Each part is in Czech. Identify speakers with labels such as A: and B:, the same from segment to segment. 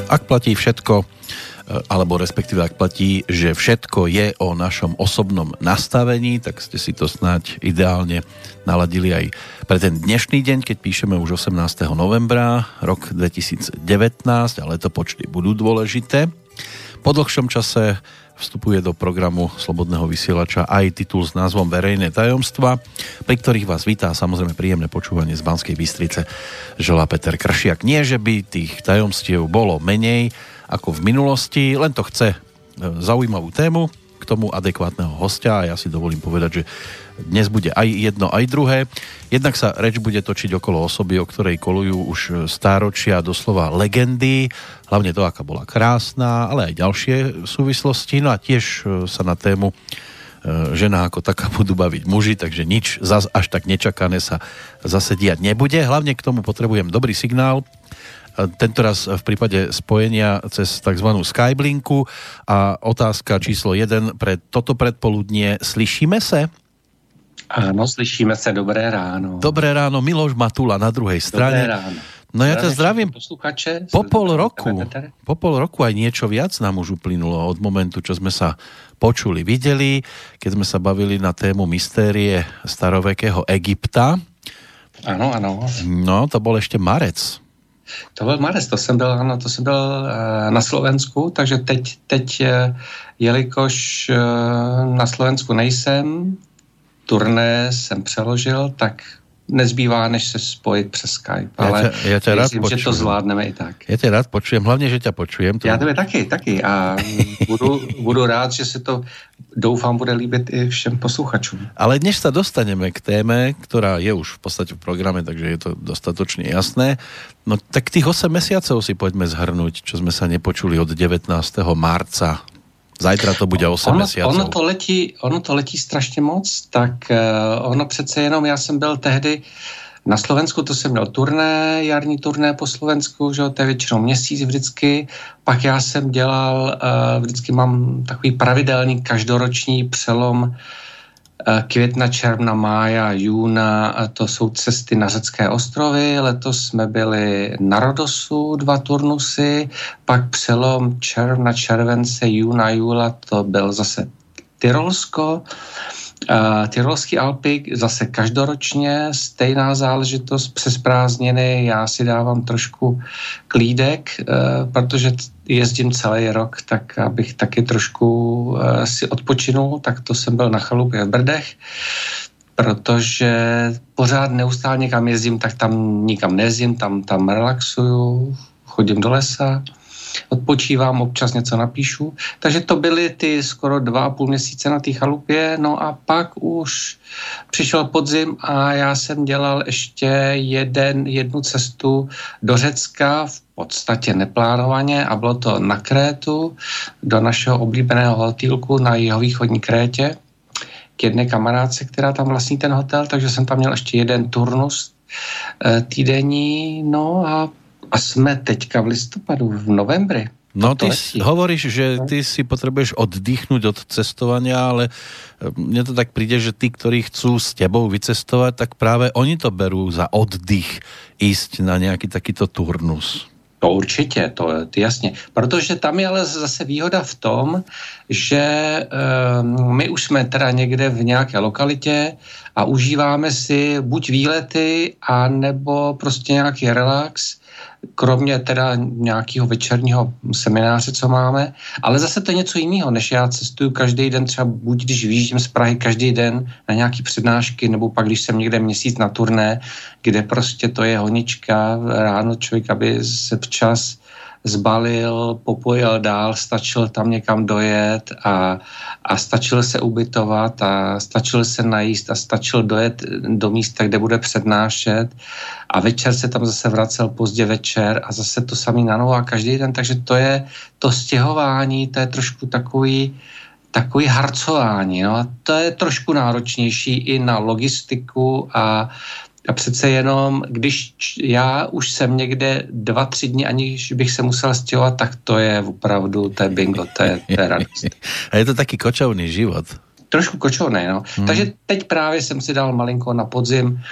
A: Ak platí všetko, alebo respektíve ak platí, že všetko je o našom osobnom nastavení, tak ste si to snáď ideálne naladili aj pre ten dnešný deň, keď píšeme už 18. novembra, rok 2019, ale to počty budú dôležité. Po dlhšom čase vstupuje do programu Slobodného vysielača aj titul s názvom Verejné tajomstva, pri ktorých vás vítá samozrejme príjemné počúvanie z Banskej Bystrice želá Peter Kršiak. Nie, že by tých tajomstiev bolo menej ako v minulosti, len to chce zaujímavú tému, k tomu adekvátneho hostia a ja si dovolím povedať, že dnes bude aj jedno, aj druhé. Jednak sa reč bude točiť okolo osoby, o ktorej kolujú už stáročia, doslova legendy, hlavne to, aká bola krásna, ale aj ďalšie súvislosti. No a tiež sa na tému žena ako taká budú baviť muži, takže nič zas až tak nečakané sa zase diať nebude. Hlavne k tomu potrebujem dobrý signál, tentoraz v prípade spojenia cez tzv. Skyblinku a otázka číslo 1 pre toto predpoludnie. Slyšíme se?
B: Áno, slyšíme sa, dobré ráno.
A: Dobré ráno, Miloš Matula na druhej strane.
B: Dobré ráno.
A: No ja ťa zdravím. Po pol roku aj niečo viac nám už uplynulo od momentu, čo sme sa počuli, videli, keď sme sa bavili na tému mystérie starovekého Egypta.
B: Áno, áno.
A: No, to bol ešte marec.
B: To byl marec, to jsem byl na Slovensku, takže teď jelikož na Slovensku nejsem, turné jsem přeložil, tak nezbývá, než se spojit přes Skype, ale
A: ja ťa rád
B: myslím, že to zvládneme i tak.
A: Ja ťa rád počujem, hlavne, že ťa počujem.
B: Já tebe taky a budu rád, že se to, doufám, bude líbit i všem posluchačům.
A: Ale než sa dostaneme k téme, ktorá je už v podstate v programe, takže je to dostatočne jasné, no tak tých 8 mesiacov si poďme zhrnúť, čo sme sa nepočuli od 19. marca. Zajtra to bude 8 mesiacov.
B: Ono to letí strašně moc, tak ono přece jenom, já jsem byl tehdy na Slovensku, to jsem měl turné, jarní turné po Slovensku, že to je většinou měsíc vždycky, pak já jsem dělal, vždycky mám takový pravidelný každoroční přelom května, června, mája, júna, to jsou cesty na řecké ostrovy, letos jsme byli na Rodosu 2 turnusy, pak přelom června, července, júna, júla, to byl zase Tyrolsko, Tyrolský Alpy, zase každoročně, stejná záležitost přes prázdniny, já si dávám trošku klídek, protože jezdím celý rok, tak abych taky trošku si odpočinul, tak to jsem byl na chalupě v Brdech, protože pořád neustále někam jezdím, tak tam nikam nejezdím, tam relaxuju, chodím do lesa, odpočívám, občas něco napíšu. Takže to byly ty skoro 2,5 měsíce na té chalupě, no a pak už přišel podzim a já jsem dělal ještě jednu cestu do Řecka, v podstatě neplánovaně, a bylo to na Krétu, do našeho oblíbeného hotýlku na jihovýchodní Krétě, k jedné kamarádce, která tam vlastní ten hotel, takže jsem tam měl ještě jeden turnus týdenní, no a jsme teďka v listopadu, v novembri.
A: No ty hovoríš, že ty si potrebuješ oddychnúť od cestovania, ale mne to tak príde, že tí, ktorí chcú s tebou vycestovať, tak práve oni to berú za oddych ísť na nejaký takýto turnus.
B: To určitě, to jasně. Protože tam je ale zase výhoda v tom, že my už jsme teda někde v nějaké lokalitě a užíváme si buď výlety, a nebo prostě nějaký relax, kromě teda nějakého večerního semináře, co máme, ale zase to je něco jiného, než já cestuju každý den, třeba buď když vyjíždím z Prahy každý den na nějaký přednášky, nebo pak když jsem někde měsíc na turné, kde prostě to je honička, ráno člověk, aby se včas zbalil, popojel dál, stačil tam někam dojet a stačil se ubytovat a stačil se najíst a stačil dojet do místa, kde bude přednášet a večer se tam zase vracel pozdě večer a zase to samý na novo a každý den, takže to je to stěhování, to je trošku takový harcování, no a to je trošku náročnější i na logistiku a přece jenom, když já už jsem někde 2-3 dny, aniž bych se musel stěhovat, tak to je opravdu, to je bingo, to je radost.
A: A je to taký kočovný život.
B: Trošku kočovný, no. Takže teď právě jsem si dal malinko na podzim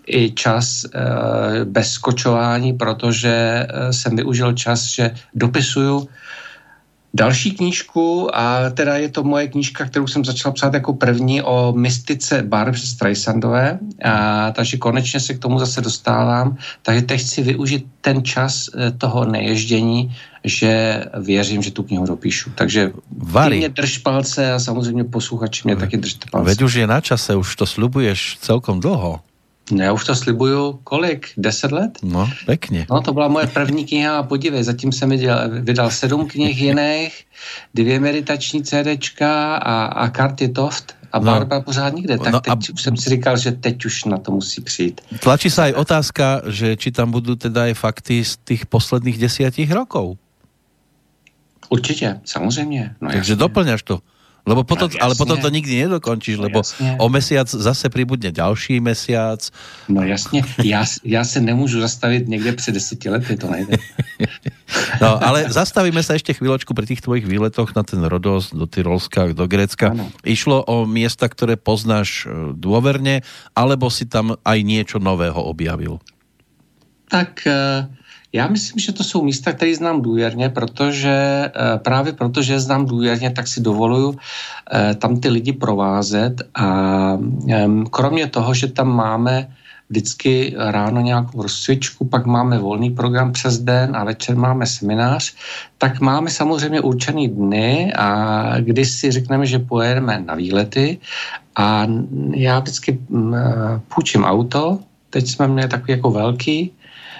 B: i čas bez skočování, protože jsem využil čas, že dopisuju další knížku a teda je to moje knížka, kterou jsem začal psát jako první o mystice Barbry Streisandové, takže konečně se k tomu zase dostávám, takže teď chci využít ten čas toho neježdění, že věřím, že tu knihu dopíšu. Takže ty mě drž palce a samozřejmě posluchači mě taky držte palce.
A: Veď už je na čase, už to slibuješ celkom dlho.
B: No, já už to slibuju, kolik? 10 let?
A: No, pekně.
B: No, to byla moje první kniha a podívej, zatím jsem vydal 7 knih jiných, 2 meditační CDčka a karty Toft a Barbara pořád nikde. Tak teď už jsem si říkal, že teď už na to musí přijít.
A: Tlačí sa aj otázka, že či tam budú teda aj fakty z tých posledných 10 rokov.
B: Určitě, samozřejmě. No,
A: takže doplňaš to. Lebo potom, ale potom to nikdy nedokončíš, lebo o mesiac zase pribudne ďalší mesiac.
B: No jasně, já se nemůžu zastavit někde před 10 lety, to nejde.
A: No, ale zastavíme sa ešte chvíľočku pri tých tvojich výletoch na ten Rodos, do Tyrolska, do Grécka. Ano. Išlo o miesta, ktoré poznáš dôverne, alebo si tam aj niečo nového objavil?
B: Tak já myslím, že to jsou místa, které znám důvěrně, protože právě protože znám důvěrně, tak si dovoluju tam ty lidi provázet a kromě toho, že tam máme vždycky ráno nějakou rozcvičku, pak máme volný program přes den a večer máme seminář, tak máme samozřejmě určený dny a kdy si řekneme, že pojedeme na výlety a já vždycky půjčím auto, teď jsme měli takový jako velký,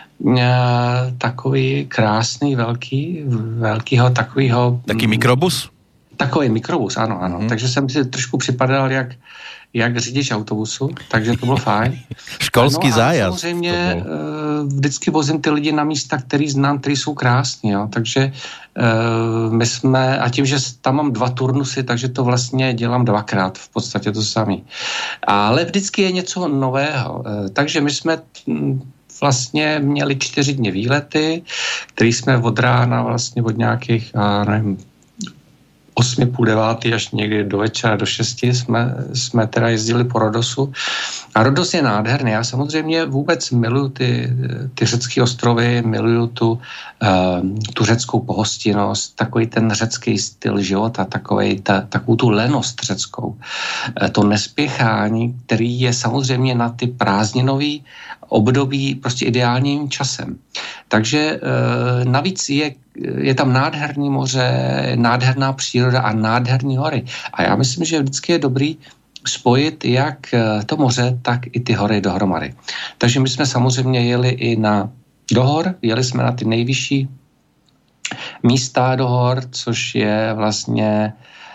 B: takový krásný, velkýho takovýho...
A: Taký mikrobus?
B: Takový mikrobus, ano. Takže jsem si trošku připadal jak řidič autobusu, takže to bylo fajn.
A: Školský zájazd.
B: Samozřejmě vždycky vozím ty lidi na místa, který znám, který jsou krásní, jo. Takže my jsme, a tím, že tam mám 2 turnusy, takže to vlastně dělám 2krát, v podstatě to samý. Ale vždycky je něco nového. Takže my jsme vlastně měli 4 dny výlety, který jsme od rána vlastně od nějakých, nevím, 8, půl 9 až někdy do večera, do 6 jsme teda jezdili po Rodosu. A Rodos je nádherný. Já samozřejmě vůbec miluju ty řecké ostrovy, miluju tu řeckou pohostinnost, takový ten řecký styl života, takovou tu lenost řeckou. To nespěchání, který je samozřejmě na ty prázdninový období prostě ideálním časem. Takže navíc je tam nádherný moře, nádherná příroda a nádherný hory. A já myslím, že vždycky je dobrý spojit jak to moře, tak i ty hory dohromady. Takže my jsme samozřejmě jeli i do hor, jeli jsme na ty nejvyšší místa do hor, což je vlastně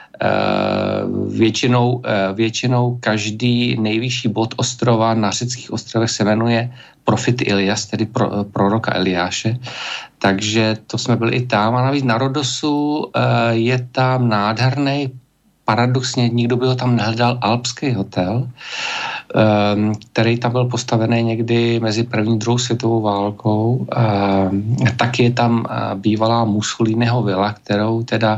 B: většinou každý nejvyšší bod ostrova na řeckých ostrovech se jmenuje Profit Ilias, tedy proroka Eliáše. Takže to jsme byli i tam. A navíc na Rodosu je tam nádherný, paradoxně nikdo by ho tam nehledal, alpský hotel, který tam byl postavený někdy mezi první a druhou světovou válkou. Taky je tam bývalá Mussoliniho vila, kterou teda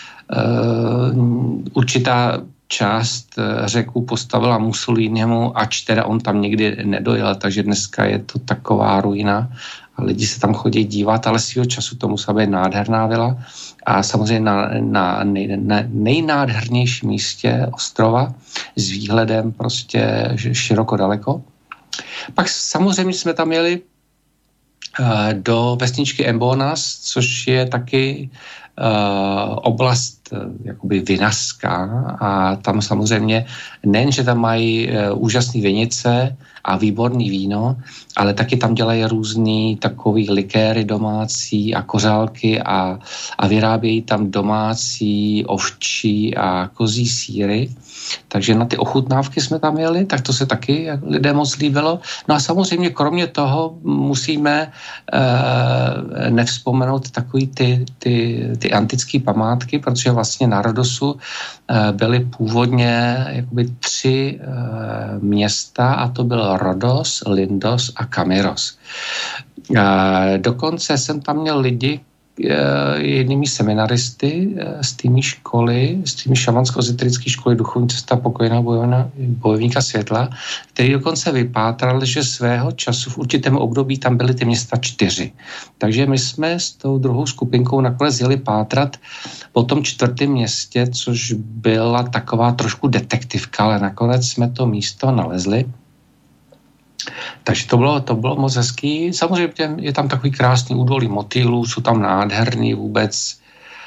B: určitá část Řeků postavila Mussolinimu, ač teda on tam nikdy nedojel, takže dneska je to taková ruina a lidi se tam chodí dívat, ale svýho času to musela být nádherná vila a samozřejmě na nejnádhernějším místě ostrova s výhledem prostě široko daleko. Pak samozřejmě jsme tam jeli do vesničky Embonas, což je taky oblast jakoby vinařská a tam samozřejmě nejen, že tam mají úžasné vinice a výborný víno, ale taky tam dělají různý takový likéry domácí a kořálky a vyrábějí tam domácí ovčí a kozí sýry. Takže na ty ochutnávky jsme tam jeli, tak to se taky lidé moc líbilo. No a samozřejmě kromě toho musíme nevzpomenout takový ty antické památky, protože vlastně na Rodosu byly původně jakoby 3 města a to byl Rodos, Lindos a Kamiros. Dokonce jsem tam měl lidi, jednými seminaristy z tými školy, z tými šamansko-ezoterické školy Duchovní cesta pokojného bojovníka světla, který dokonce vypátral, že svého času v určitém období tam byly ty města 4. Takže my jsme s tou druhou skupinkou nakonec jeli pátrat po tom 4. městě, což byla taková trošku detektivka, ale nakonec jsme to místo nalezli. Takže to bylo moc hezký. Samozřejmě je tam takový krásný údolí motýlů, jsou tam nádherný vůbec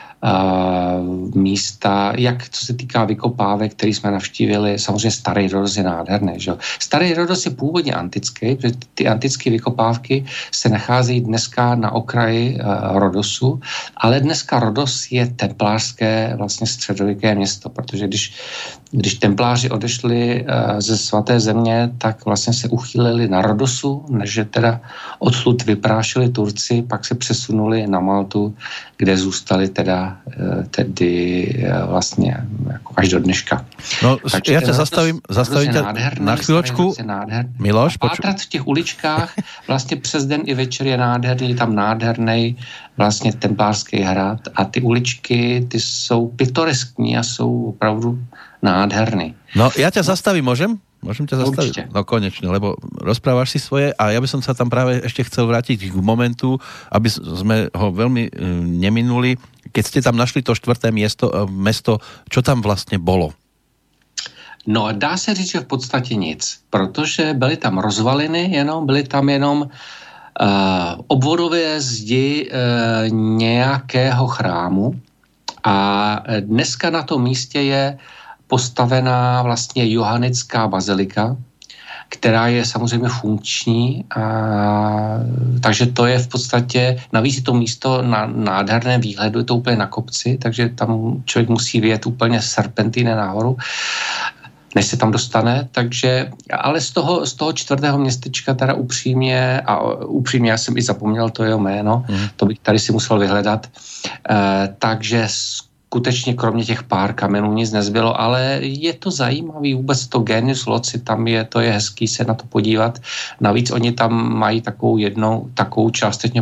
B: místa, jak co se týká vykopávek, který jsme navštívili. Samozřejmě Starý Rodos je nádherný. Že? Starý Rodos je původně antický, protože ty antické vykopávky se nacházejí dneska na okraji Rodosu, ale dneska Rodos je templářské vlastně středověké město, protože když templáři odešli ze svaté země, tak vlastně se uchýlili na Rodosu, než teda odtud vyprášili Turci, pak se přesunuli na Maltu, kde zůstali tedy vlastně jako až do dneška.
A: No, takže ja ťa zastavím na chvíľočku. Miloš,
B: pátrat v těch uličkách vlastně přes den i večer je nádherný, tam nádherný vlastně templářský hrad a ty uličky, ty jsou pitoreskní a jsou opravdu nádherný.
A: No, ja ťa zastavím, môžem? Môžem ťa zastaviť? Určite. No konečne, lebo rozprávaš si svoje a ja by som sa tam práve ešte chcel vrátiť k momentu, aby sme ho veľmi neminuli. Keď ste tam našli to 4. mesto, čo tam vlastne bolo?
B: No, dá se říct, že v podstatě nic, protože byly tam rozvaliny, byly tam jenom obvodové zdi nějakého chrámu a dneska na tom místě je postavená vlastně johannická bazilika, která je samozřejmě funkční, takže to je v podstatě, navíc je to místo na nádherném výhledu, je to úplně na kopci, takže tam člověk musí vyjet úplně serpentíny nahoru, než se tam dostane, takže, ale z toho 4. městečka teda upřímně, já jsem i zapomněl to jeho jméno, to bych tady si musel vyhledat, takže skutečně kromě těch pár kamenů nic nezbylo, ale je to zajímavý, vůbec to Genius Loci, tam to je hezký se na to podívat. Navíc oni tam mají takovou částečně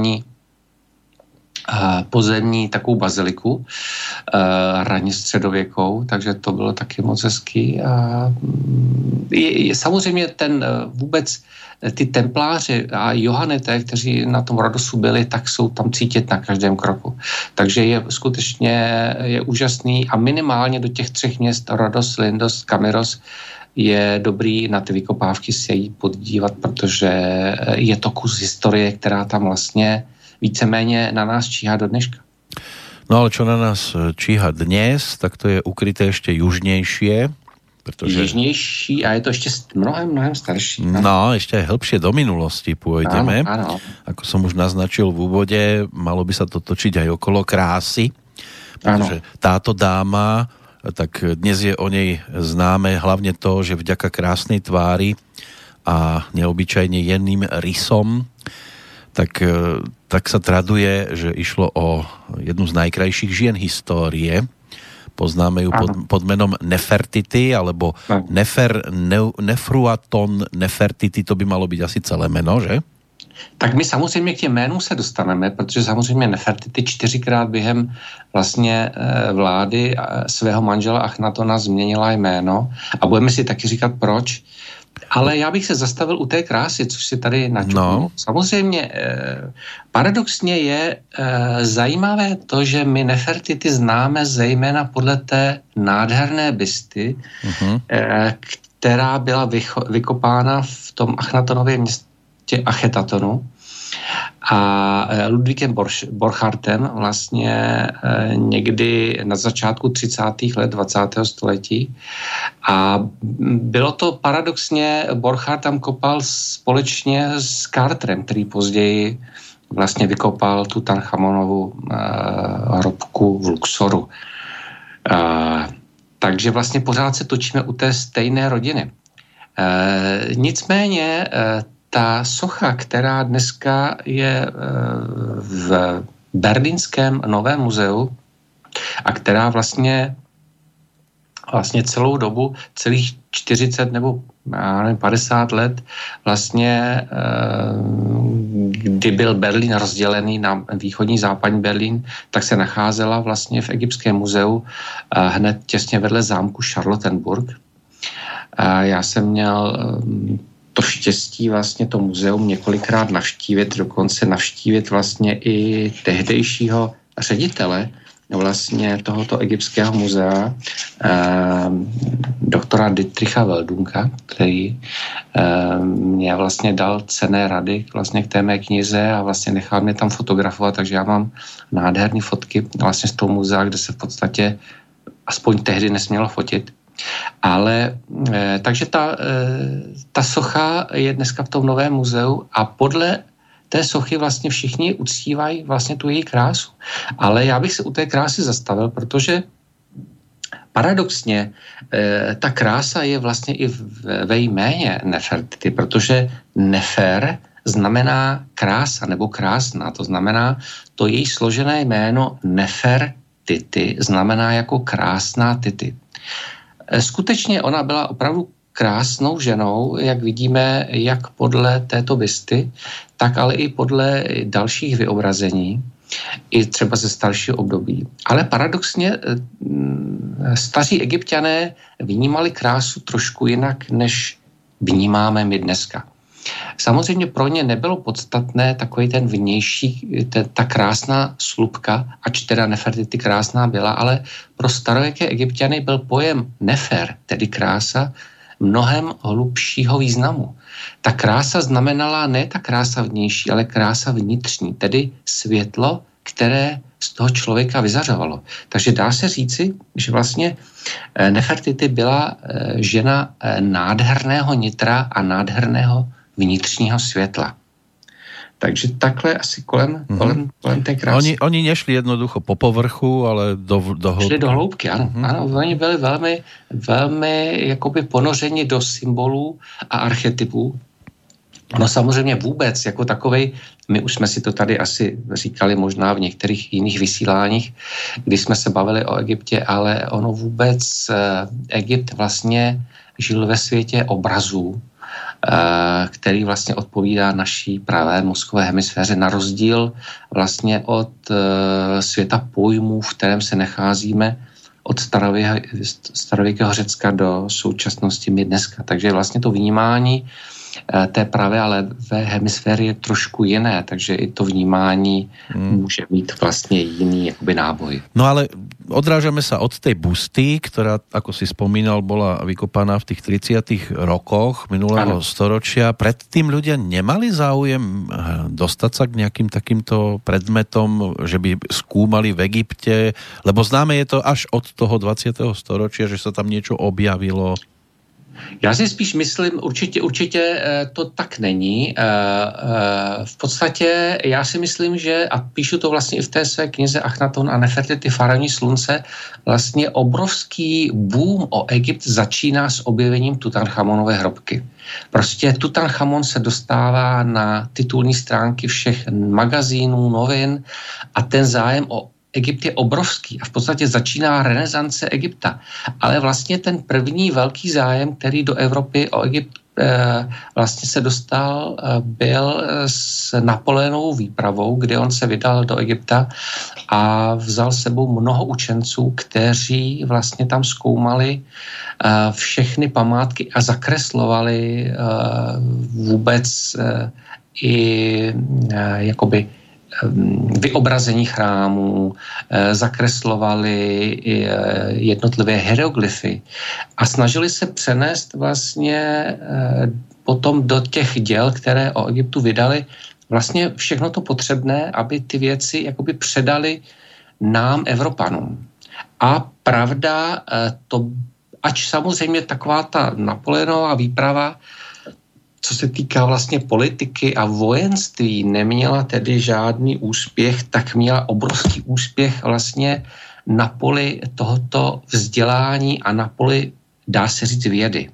B: podzemní takovou baziliku, raně středověkou, takže to bylo taky moc hezký. Samozřejmě vůbec ty templáři a Johanité, kteří na tom Rodosu byli, tak jsou tam cítit na každém kroku. Takže je skutečně úžasný a minimálně do těch 3 měst Rodos, Lindos, Kamiros je dobrý na ty vykopávky se jít podívat, protože je to kus historie, která tam vlastně víceméně na nás číhá do dneška.
A: No ale čo na nás číha dnes, tak to je ukryté ešte južnejšie. Pretože...
B: Jižnější a je to ještě mnohem starší.
A: No, ešte aj hĺbšie do minulosti pôjdeme.
B: Áno.
A: Ako som už naznačil v úvode, malo by sa to točiť aj okolo krásy. Pretože táto dáma, tak dnes je o nej známe hlavne to, že vďaka krásnej tvári a neobyčajne jemným rysom, tak sa traduje, že išlo o jednu z najkrajších žien histórie. Poznáme ju pod menom Nefertiti, alebo Nefruaton Nefertiti, to by malo byť asi celé meno, že?
B: Tak my samozřejmě k těm jménům se dostaneme, protože samozřejmě Nefertiti 4krát během vlastně vlády svého manžela Achnatona změnila jméno a budeme si taky říkat proč. Ale já bych se zastavil u té krásy, což si tady načupu. No. Samozřejmě paradoxně je zajímavé to, že my Nefertiti známe zejména podle té nádherné bysty, která byla vykopána v tom Achnatonově městě Achetatonu a Ludvíkem Borchartem vlastně někdy na začátku 30. let 20. století a bylo to paradoxně, Borchardt tam kopal společně s Carterem, který později vlastně vykopal Tutanchamonovu hrobku v Luxoru. Takže vlastně pořád se točíme u té stejné rodiny. Nicméně ta socha, která dneska je v berlínském Novém muzeu a která vlastně celou dobu, celých 40 nebo 50 let vlastně, kdy byl Berlín rozdělený na východní západní Berlín, tak se nacházela vlastně v Egyptském muzeu hned těsně vedle zámku Charlottenburg. Já jsem měl to štěstí vlastně to muzeum několikrát navštívit, dokonce navštívit vlastně i tehdejšího ředitele vlastně tohoto egyptského muzea, doktora Dietricha Weldunka, který mě vlastně dal cenné rady vlastně k té mé knize a vlastně nechal mě tam fotografovat, takže já mám nádherné fotky vlastně z toho muzea, kde se v podstatě aspoň tehdy nesmělo fotit. Ale takže ta socha je dneska v tom novém muzeu a podle té sochy vlastně všichni uctívají vlastně tu její krásu. Ale já bych se u té krásy zastavil, protože paradoxně ta krása je vlastně i ve jméně Nefertiti, protože Nefer znamená krása nebo krásná. To znamená, to její složené jméno Nefertiti znamená jako krásná Titi. Skutečně ona byla opravdu krásnou ženou, jak vidíme, jak podle této bysty, tak ale i podle dalších vyobrazení, i třeba ze staršího období. Ale paradoxně staří Egypťané vnímali krásu trošku jinak, než vnímáme my dneska. Samozřejmě pro ně nebylo podstatné takový ten vnější, ta krásná slupka, ač teda Nefertiti krásná byla, ale pro starověké Egypťany byl pojem Nefer, tedy krása, mnohem hlubšího významu. Ta krása znamenala ne ta krása vnější, ale krása vnitřní, tedy světlo, které z toho člověka vyzařovalo. Takže dá se říci, že vlastně Nefertiti byla žena nádherného nitra a nádherného vnitřního světla. Takže takhle asi kolem té krásy.
A: Oni nešli jednoducho po povrchu, ale do hloubky.
B: Šli do hloubky, ano. Ano, oni byli velmi jakoby ponořeni do symbolů a archetypů. No samozřejmě vůbec jako takovej, my už jsme si to tady asi říkali možná v některých jiných vysíláních, kdy jsme se bavili o Egyptě, ale ono vůbec Egypt vlastně žil ve světě obrazů, který vlastně odpovídá naší pravé mozkové hemisféře, na rozdíl vlastně od světa pojmů, v kterém se nacházíme od starověkého Řecka do současnosti my dneska. Takže vlastně to vnímání té pravé a levé hemisféry je trošku jiné, takže i to vnímání může mít vlastně jiný jakoby náboj.
A: No ale odrážame sa od tej busty, ktorá, ako si spomínal, bola vykopaná v tých 30. rokoch minulého storočia. Predtým ľudia nemali záujem dostať sa k nejakým takýmto predmetom, že by skúmali v Egypte, lebo známe je to až od toho 20. storočia, že sa tam niečo objavilo.
B: Já si spíš myslím, určitě to tak není. V podstatě já si myslím, že, a píšu to vlastně i v té své knize Achnaton a Nefertiti faraonní slunce, vlastně obrovský boom o Egypt začíná s objevením Tutanchamonové hrobky. Prostě Tutanchamon se dostává na titulní stránky všech magazínů, novin a ten zájem o Egypt je obrovský a v podstatě začíná renesance Egypta. Ale vlastně ten první velký zájem, který do Evropy o Egypt vlastně se dostal, byl s Napoleonovou výpravou, kde on se vydal do Egypta a vzal sebou mnoho učenců, kteří vlastně tam zkoumali všechny památky a zakreslovali vůbec i jakoby vyobrazení chrámů, zakreslovali jednotlivé hieroglyfy a snažili se přenést vlastně potom do těch děl, které o Egyptu vydali, vlastně všechno to potřebné, aby ty věci jakoby předali nám, Evropanům. A pravda, to, ač samozřejmě taková ta Napoleonová výprava, co se týká vlastně politiky a vojenství, neměla tedy žádný úspěch, tak měla obrovský úspěch vlastně na poli tohoto vzdělání a na poli, dá se říct, vědy.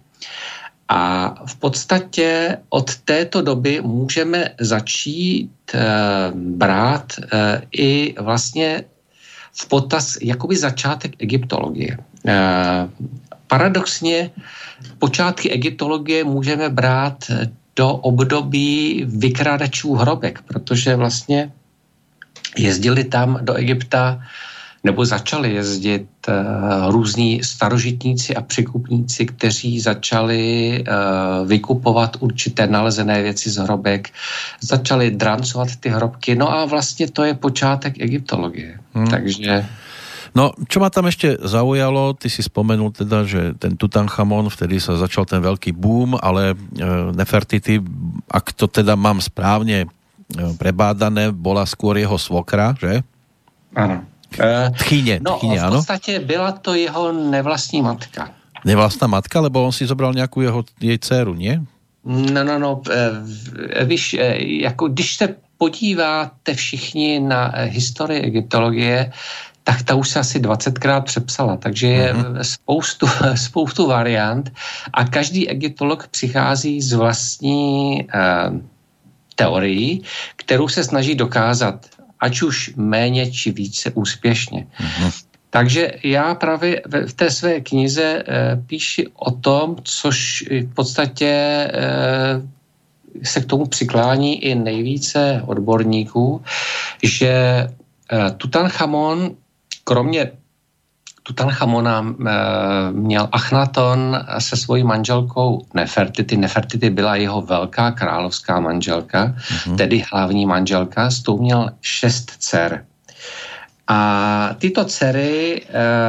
B: A v podstatě od této doby můžeme začít brát i vlastně v potaz jakoby začátek egyptologie. paradoxně počátky egyptologie můžeme brát do období vykrádačů hrobek, protože vlastně jezdili tam do Egypta nebo začali jezdit různí starožitníci a překupníci, kteří začali vykupovat určité nalezené věci z hrobek, začali drancovat ty hrobky, no a vlastně to je počátek egyptologie. Takže...
A: No, čo ma tam ešte zaujalo, ty si spomenul teda, že ten Tutanchamon, vtedy sa začal ten veľký boom, ale Nefertiti, ak to teda mám správne prebádané, bola skôr jeho svokra, že?
B: Áno.
A: Tchyne,
B: v podstate byla to jeho nevlastní matka.
A: Nevlastná matka, lebo on si zobral nejakú jej dceru, nie?
B: No. Víš, jako když se podíváte všichni na historii egyptologie, tak ta už se asi 20krát přepsala, takže je spoustu variant a každý egyptolog přichází z vlastní teorií, kterou se snaží dokázat, ať už méně či více úspěšně. Takže já právě v té své knize píši o tom, což v podstatě se k tomu přiklání i nejvíce odborníků, že Tutanchamon, kromě Tutanchamona měl Achnaton se svojí manželkou Nefertiti. Nefertiti byla jeho velká královská manželka, tedy hlavní manželka, s tou měl 6 dcer. A tyto dcery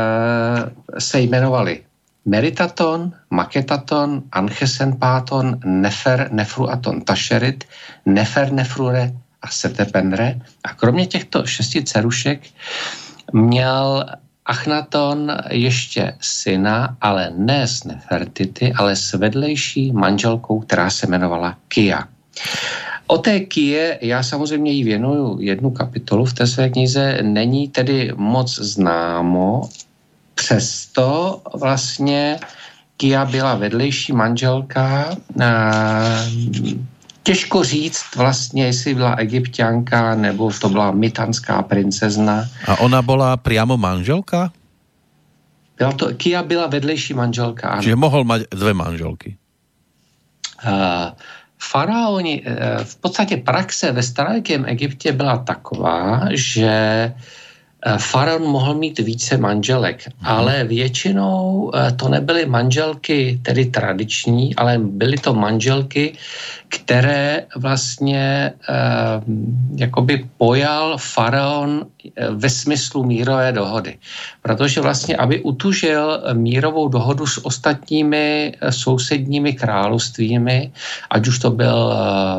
B: se jmenovaly Meritaton, Maketaton, Anchesenpaton, Nefer, Nefruaton, Tašerit, Nefer, Nefrure a Setepenre. A kromě těchto 6 dcerušek měl Achnaton ještě syna, ale ne s Nefertiti, ale s vedlejší manželkou, která se jmenovala Kia. O té Kie já samozřejmě jí věnuju jednu kapitolu v té své knize, není tedy moc známo, přesto vlastně Kia byla vedlejší manželka. Těžko říct vlastně, jestli byla Egypťanka, nebo to byla mytanská princezna.
A: A ona byla priamo manželka?
B: Kia byla vedlejší manželka, ano.
A: Čiže mohl mať 2 manželky?
B: Faraoni, v podstatě praxe ve starověkém Egyptě byla taková, že faraon mohl mít více manželek, ale většinou to nebyly manželky tedy tradiční, ale byly to manželky, které vlastně jakoby pojal faraon ve smyslu mírové dohody. Protože vlastně, aby utužil mírovou dohodu s ostatními sousedními královstvími, ať už to byl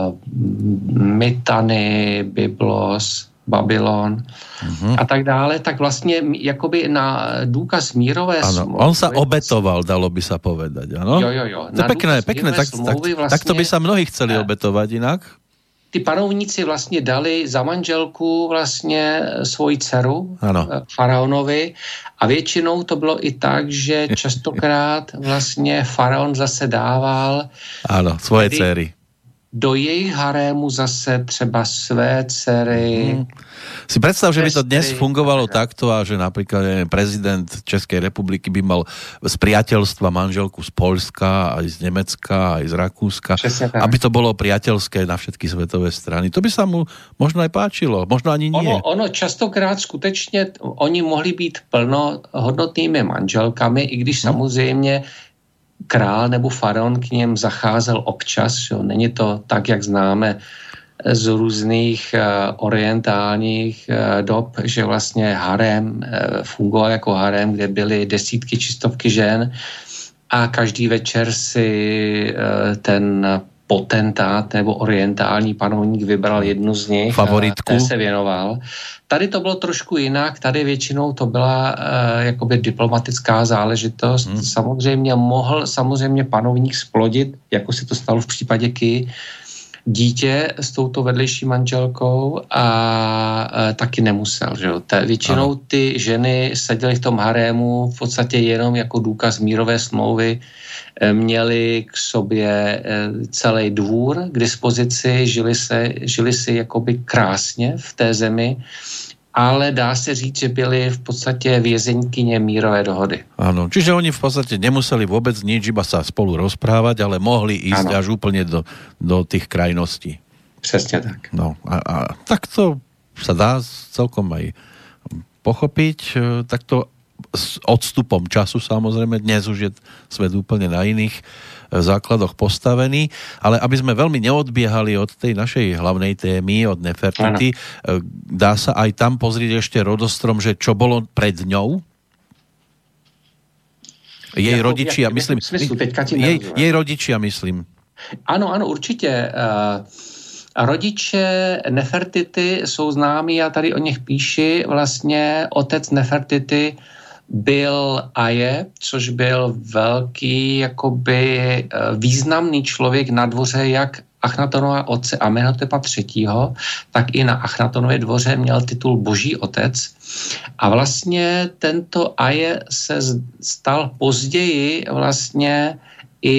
B: Mytany, Byblos, Babylon a tak dále, tak vlastně jakoby na důkaz mírové smlouvy...
A: On sa obetoval, dalo by sa povedať, ano?
B: Jo.
A: To je pekné, tak to by sa mnohí chceli obetovať inak.
B: Ty panovníci vlastně dali za manželku vlastně svoji dceru faraonovi a většinou to bylo i tak, že častokrát vlastně faraon zase dával
A: svoje dcery
B: do jejich harému zase třeba své dcery.
A: Si predstav, že by to dnes fungovalo takto a že napríklad prezident Českej republiky by mal z priateľstva manželku z Poľska, aj z Nemecka, aj z Rakúska, aby to bolo priateľské na všetky svetové strany. To by sa mu možno aj páčilo, možno ani nie.
B: Ono častokrát skutečně, oni mohli být plnohodnotnými manželkami, i když samozřejmě král nebo faraon k něm zacházel občas, jo. Není to tak, jak známe z různých orientálních dob, že vlastně harém fungoval jako harém, kde byly desítky či stovky žen a každý večer si ten potentát nebo orientální panovník vybral jednu z nich,
A: favoritku,
B: a se věnoval. Tady to bylo trošku jinak, tady většinou to byla jakoby diplomatická záležitost. Samozřejmě mohl panovník splodit, jako se to stalo v případě Ky, dítě s touto vedlejší manželkou a taky nemusel. Že? Většinou ty ženy seděly v tom harému v podstatě jenom jako důkaz mírové smlouvy, měli k sobě celý dvůr k dispozici, žili si jakoby krásně v té zemi ale dá se říct, že byli v podstate vězeňkyně mírové dohody.
A: Áno, čiže oni v podstate nemuseli vôbec nič, iba sa spolu rozprávať, ale mohli ísť až úplne do tých krajností.
B: Přesně tak.
A: No a tak to sa dá celkom aj pochopiť, takto s odstupom času samozrejme, dnes už je svet úplne na iných základoch postavený, ale aby sme veľmi neodbiehali od tej našej hlavnej témy, od Nefertity, dá sa aj tam pozrieť ešte rodostrom, že čo bolo pred ňou? Jej rodičia, myslím. Jej rodičia, myslím.
B: Ano, určitě. Rodiče Nefertity jsou známí, já tady o nich píši. Vlastně otec Nefertity byl Aje, což byl velký, jakoby významný člověk na dvoře jak Achnatonova otce Amenhotepa III., tak i na Achnatonově dvoře měl titul Boží otec. A vlastně tento Aje se stal později vlastně i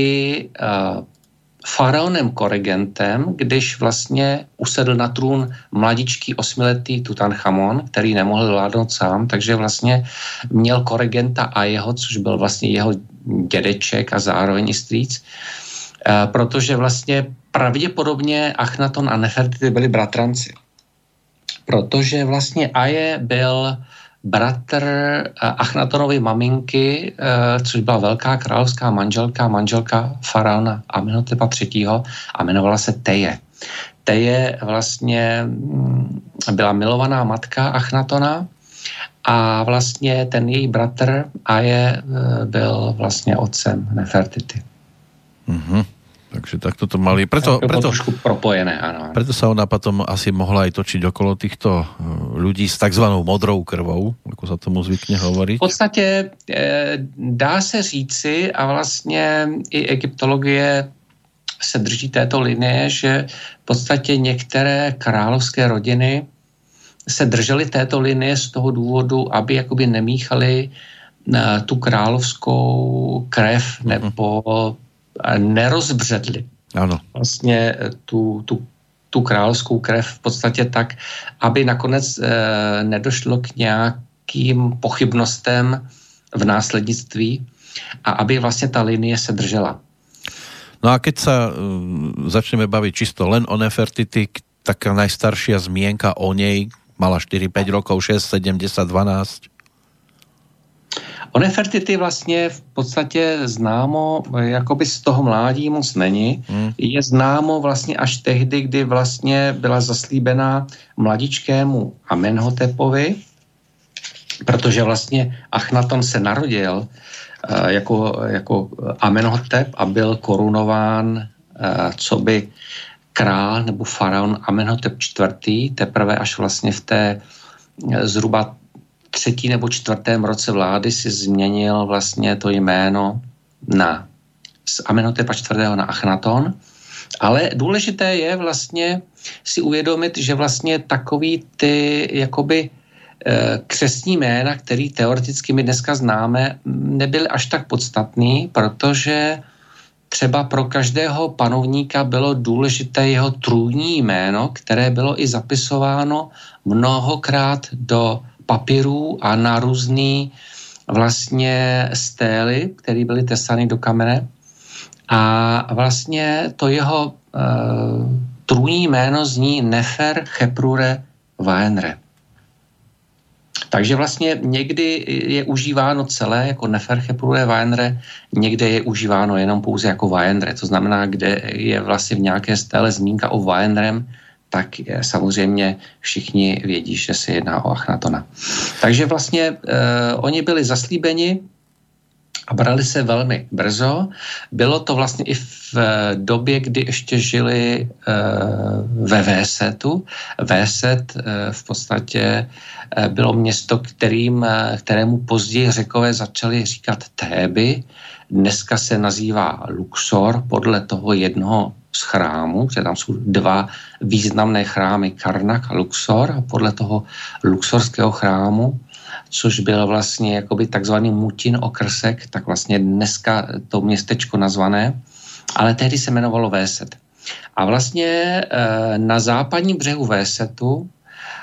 B: faraonem Koregentem, když vlastně usedl na trůn mladičký 8letý Tutanchamon, který nemohl vládnout sám, takže vlastně měl Koregenta a jeho, což byl vlastně jeho dědeček a zároveň i strýc, protože vlastně pravděpodobně Achnaton a Nefertity byli bratranci. Protože vlastně Aje byl bratr Achnatonovy maminky, což byla velká královská manželka faraona Amenhotepa III. A jmenovala se Teje. Teje vlastně byla milovaná matka Achnatona a vlastně ten její bratr Aje byl vlastně otcem Nefertity.
A: Mhm. Takže takto to mali. Preto
B: trošku propojené, áno.
A: Preto sa ona potom asi mohla aj točiť okolo týchto ľudí s takzvanou modrou krvou, ako sa tomu zvykne hovoriť.
B: V podstate dá se říci, a vlastně i egyptologie se drží této linie, že v podstatě některé královské rodiny se držely této linie z toho důvodu, aby jakoby nemíchali tu královskou krev nebo nerozbředli.
A: Ano.
B: Vlastně tu královskou krev v podstatě tak, aby nakonec nedošlo k nějakým pochybnostem v následnictví a aby vlastně ta linie se držela.
A: No a keď sa začneme baviť čisto len o Nefertity, taká najstaršia zmienka o nej mala 4-5 rokov, 6, 7, 10, 12.
B: O Nefertity vlastně v podstatě známo, jakoby z toho mládí moc není. Je známo vlastně až tehdy, kdy vlastně byla zaslíbená mladičkému Amenhotepovi, protože vlastně Achnaton se narodil jako Amenhotep a byl korunován coby král nebo faraon Amenhotep IV. Teprve až vlastně v té zhruba 3. nebo 4. roce vlády si změnil vlastně to jméno z Amenhotepa IV. Na Achnaton. Ale důležité je vlastně si uvědomit, že vlastně takový ty jakoby křestní jména, který teoreticky my dneska známe, nebyly až tak podstatný, protože třeba pro každého panovníka bylo důležité jeho trůní jméno, které bylo i zapisováno mnohokrát do papírů a na různý vlastně stély, které byly tesány do kamene. A vlastně to jeho trůní jméno zní Nefer Cheprure Waenre. Takže vlastně někdy je užíváno celé jako Nefer Cheprure Waenre, někde je užíváno jenom pouze jako Waenre. To znamená, kde je vlastně v nějaké stéle zmínka o Waenrem, tak samozřejmě všichni vědí, že se jedná o Achnatona. Takže vlastně oni byli zaslíbeni a brali se velmi brzo. Bylo to vlastně i v době, kdy ještě žili ve Vésetu. Véset v podstatě bylo město, kterému později Řekové začali říkat Théby. Dneska se nazývá Luxor podle toho jednoho z chrámů, protože tam jsou 2 významné chrámy, Karnak a Luxor, a podle toho luxorského chrámu, což byl vlastně jakoby takzvaný Mutin okrsek, tak vlastně dneska to městečko nazvané, ale tehdy se jmenovalo Véset. A vlastně na západním břehu Vésetu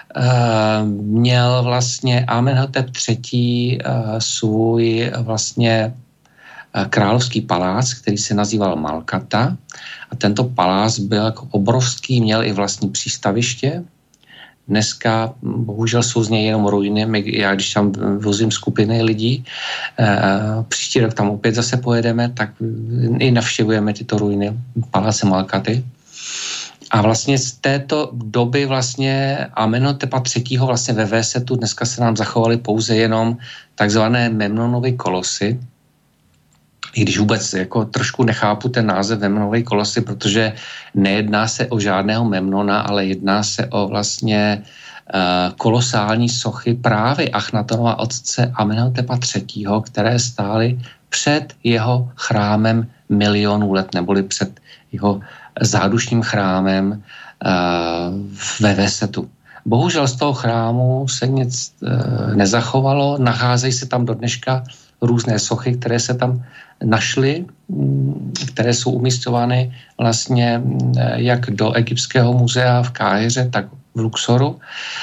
B: měl vlastně Amenhotep III. Svůj vlastně královský palác, který se nazýval Malkata. A tento palác byl jako obrovský, měl i vlastní přístaviště. Dneska bohužel jsou z něj jenom ruiny. Já když tam vozím skupiny lidí, příští rok tam opět zase pojedeme, tak i navštěvujeme tyto ruiny paláce Malkaty. A vlastně z této doby vlastně Amenhotepa III. Vlastně ve Vésetu dneska se nám zachovaly pouze jenom takzvané Memnonovy kolosy. I když vůbec jako trošku nechápu ten název Memnonovy kolosy, protože nejedná se o žádného Memnona, ale jedná se o vlastně kolosální sochy právě Achnatonova otce Amenhotepa III., které stály před jeho chrámem milionů let, neboli před jeho zádušním chrámem ve Vésetu. Bohužel z toho chrámu se nic nezachovalo, nacházejí se tam do dneška různé sochy, které se tam našly, které jsou umisťovány vlastně jak do Egyptského muzea v Káhiře, tak v Luxoru.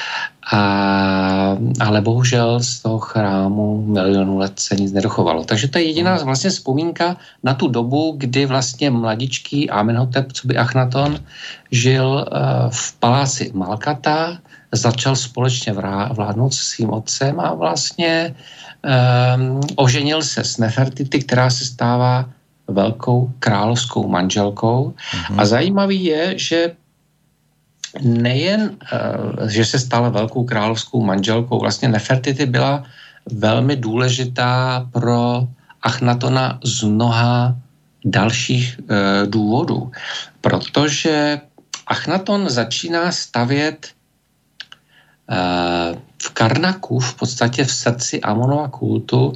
B: Ale bohužel z toho chrámu milionů let se nic nedochovalo. Takže to je jediná vlastně vzpomínka na tu dobu, kdy vlastně mladičký Amenhotep, co by Achnaton, žil v paláci Malkata, začal společně vládnout se svým otcem a vlastně oženil se s Nefertiti, která se stává velkou královskou manželkou. A zajímavý je, že nejen, že se stala velkou královskou manželkou, vlastně Nefertiti byla velmi důležitá pro Achnatona z mnoha dalších důvodů, protože Achnaton začíná stavět v Karnaku, v podstatě v srdci Amonova kultu,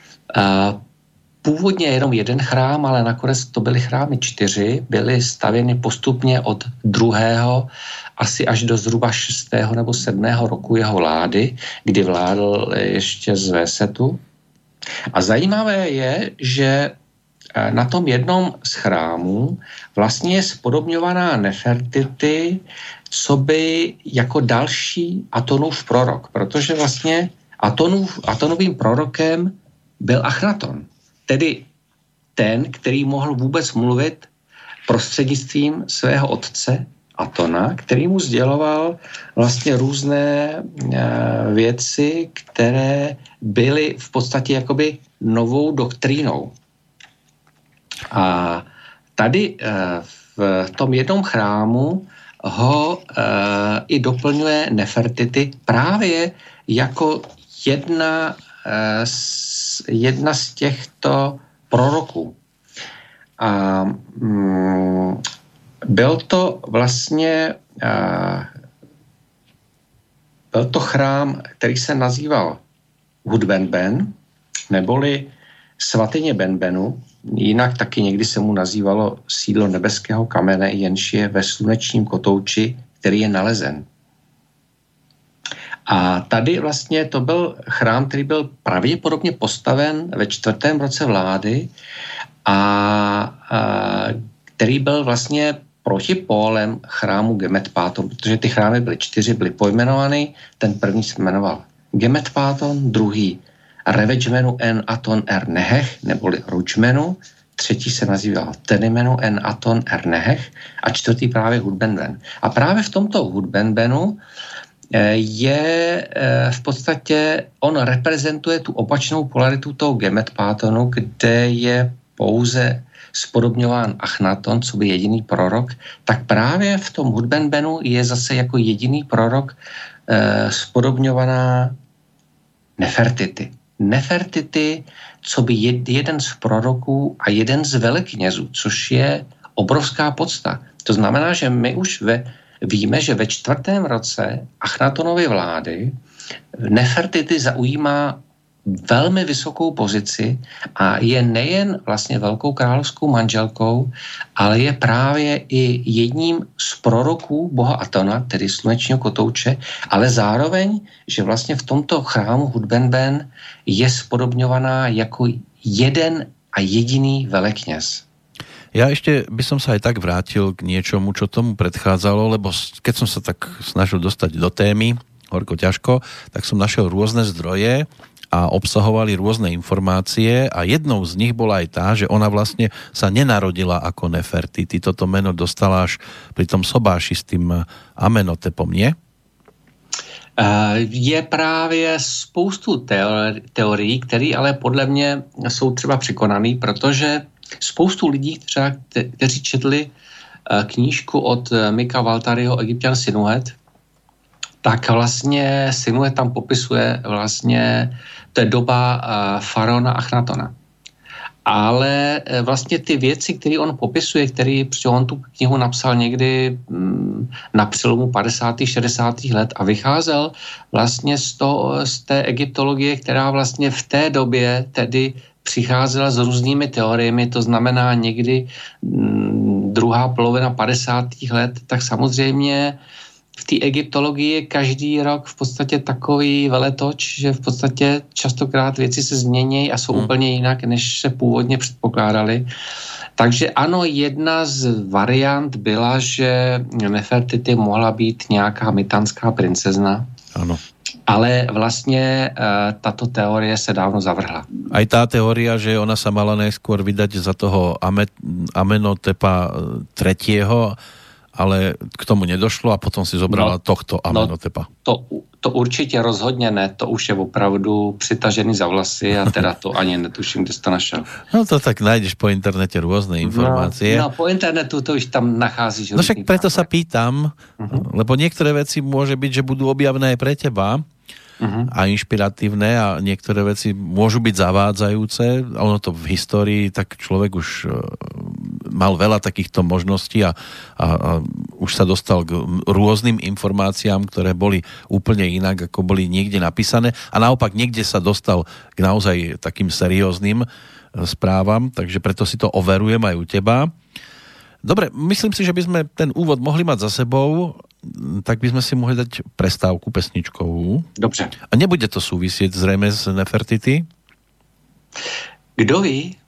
B: původně jenom jeden chrám, ale nakonec to byly chrámy 4, byly stavěny postupně od 2. asi až do zhruba 6. nebo 7. roku jeho vlády, kdy vládl ještě z Vésetu. A zajímavé je, že na tom jednom z chrámů vlastně je spodobňovaná Nefertiti, co by jako další Atonův prorok, protože vlastně Atonovým prorokem byl Achnaton, tedy ten, který mohl vůbec mluvit prostřednictvím svého otce Atona, který mu sděloval vlastně různé věci, které byly v podstatě jakoby novou doktrínou. A tady v tom jednom chrámu ho i doplňuje Nefertiti právě jako jedna z těchto proroků. A byl to vlastně byl to chrám, který se nazýval Hudbenben, neboli svatyně Benbenu, jinak taky někdy se mu nazývalo sídlo nebeského kamene, jenž je ve slunečním kotouči, který je nalezen. A tady vlastně to byl chrám, který byl pravděpodobně postaven ve 4. roce vlády a který byl vlastně protipólem chrámu Gemetpáton, protože ty chrámy byly 4, byly pojmenovány. Ten první se jmenoval Gemetpáton, druhý Revečmenu en Aton er Nehech, neboli Ručmenu, třetí se nazýval Tenimenu en Aton er Nehech a čtvrtý právě Hudbenben. A právě v tomto Hudbenbenu je v podstatě, on reprezentuje tu opačnou polaritu toho Gemetpátonu, kde je pouze spodobňován Achnaton, co by jediný prorok, tak právě v tom Hudbenbenu je zase jako jediný prorok spodobňovaná Nefertiti. Nefertiti, co by jeden z proroků a jeden z veleknězů, což je obrovská podsta. To znamená, že my už víme, že ve 4. roce Achnatonovy vlády Nefertiti zaujímá velmi vysokou pozici a je nejen vlastně velkou královskou manželkou, ale je právě i jedním z proroků boha Atona, tedy slunečního kotouče, ale zároveň, že vlastně v tomto chrámu Hudbenben je spodobňovaná jako jeden a jediný velekněz.
A: Ja ešte by som sa aj tak vrátil k niečomu, čo tomu predchádzalo, lebo keď som sa tak snažil dostať do témy horko ťažko, tak som našiel rôzne zdroje a obsahovali rôzne informácie a jednou z nich bola aj tá, že ona vlastne sa nenarodila ako Nefertiti. Toto meno dostala až pri tom sobáši s tým Amenotepom, nie?
B: Je právě spoustu teorií, které ale podle mě jsou třeba překonaný, protože spoustu lidí, třeba, kteří četli knížku od Mika Waltariho Egyptian Sinuhet, tak vlastně Sinuhet tam popisuje vlastně, to je doba faraona Achnatona. Ale vlastně ty věci, které on popisuje, protože on tu knihu napsal někdy na přelomu 50. 60. let a vycházel vlastně z té egyptologie, která vlastně v té době tedy přicházela s různými teoriemi, to znamená někdy druhá polovina 50. let, tak samozřejmě v té egyptologii je každý rok v podstatě takový veletoč, že v podstatě častokrát věci se změní a jsou úplně jinak, než se původně předpokládali. Takže ano, jedna z variant byla, že Nefertiti mohla být nějaká mytanská princezna.
A: Ano.
B: Ale vlastně tato teorie se dávno zavrhla.
A: Aj tá teória, že ona sa mala najskôr vydať za toho Amenotepa III., ale k tomu nedošlo a potom si zobrala tohto Amenotepa.
B: To určitě rozhodně ne, to už je opravdu přitažený za vlasy a teda to ani netuším, kde jsi to našel.
A: No to tak nájdeš po internete rôzne informácie.
B: No po internetu to už tam nacházíš.
A: No však preto sa pýtam, lebo niektoré veci môže byť, že budú objavné aj pre teba a inšpiratívne a niektoré veci môžu byť zavádzajúce. Ono to v histórii, tak človek už mal veľa takýchto možností a už sa dostal k rôznym informáciám, ktoré boli úplne inak, ako boli niekde napísané a naopak niekde sa dostal k naozaj takým serióznym správam, takže preto si to overujem aj u teba. Dobre, myslím si, že by sme ten úvod mohli mať za sebou, tak by sme si mohli dať prestávku pesničkovú.
B: Dobře.
A: A nebude to súvisieť zrejme s Nefertiti?
B: Kdo ví?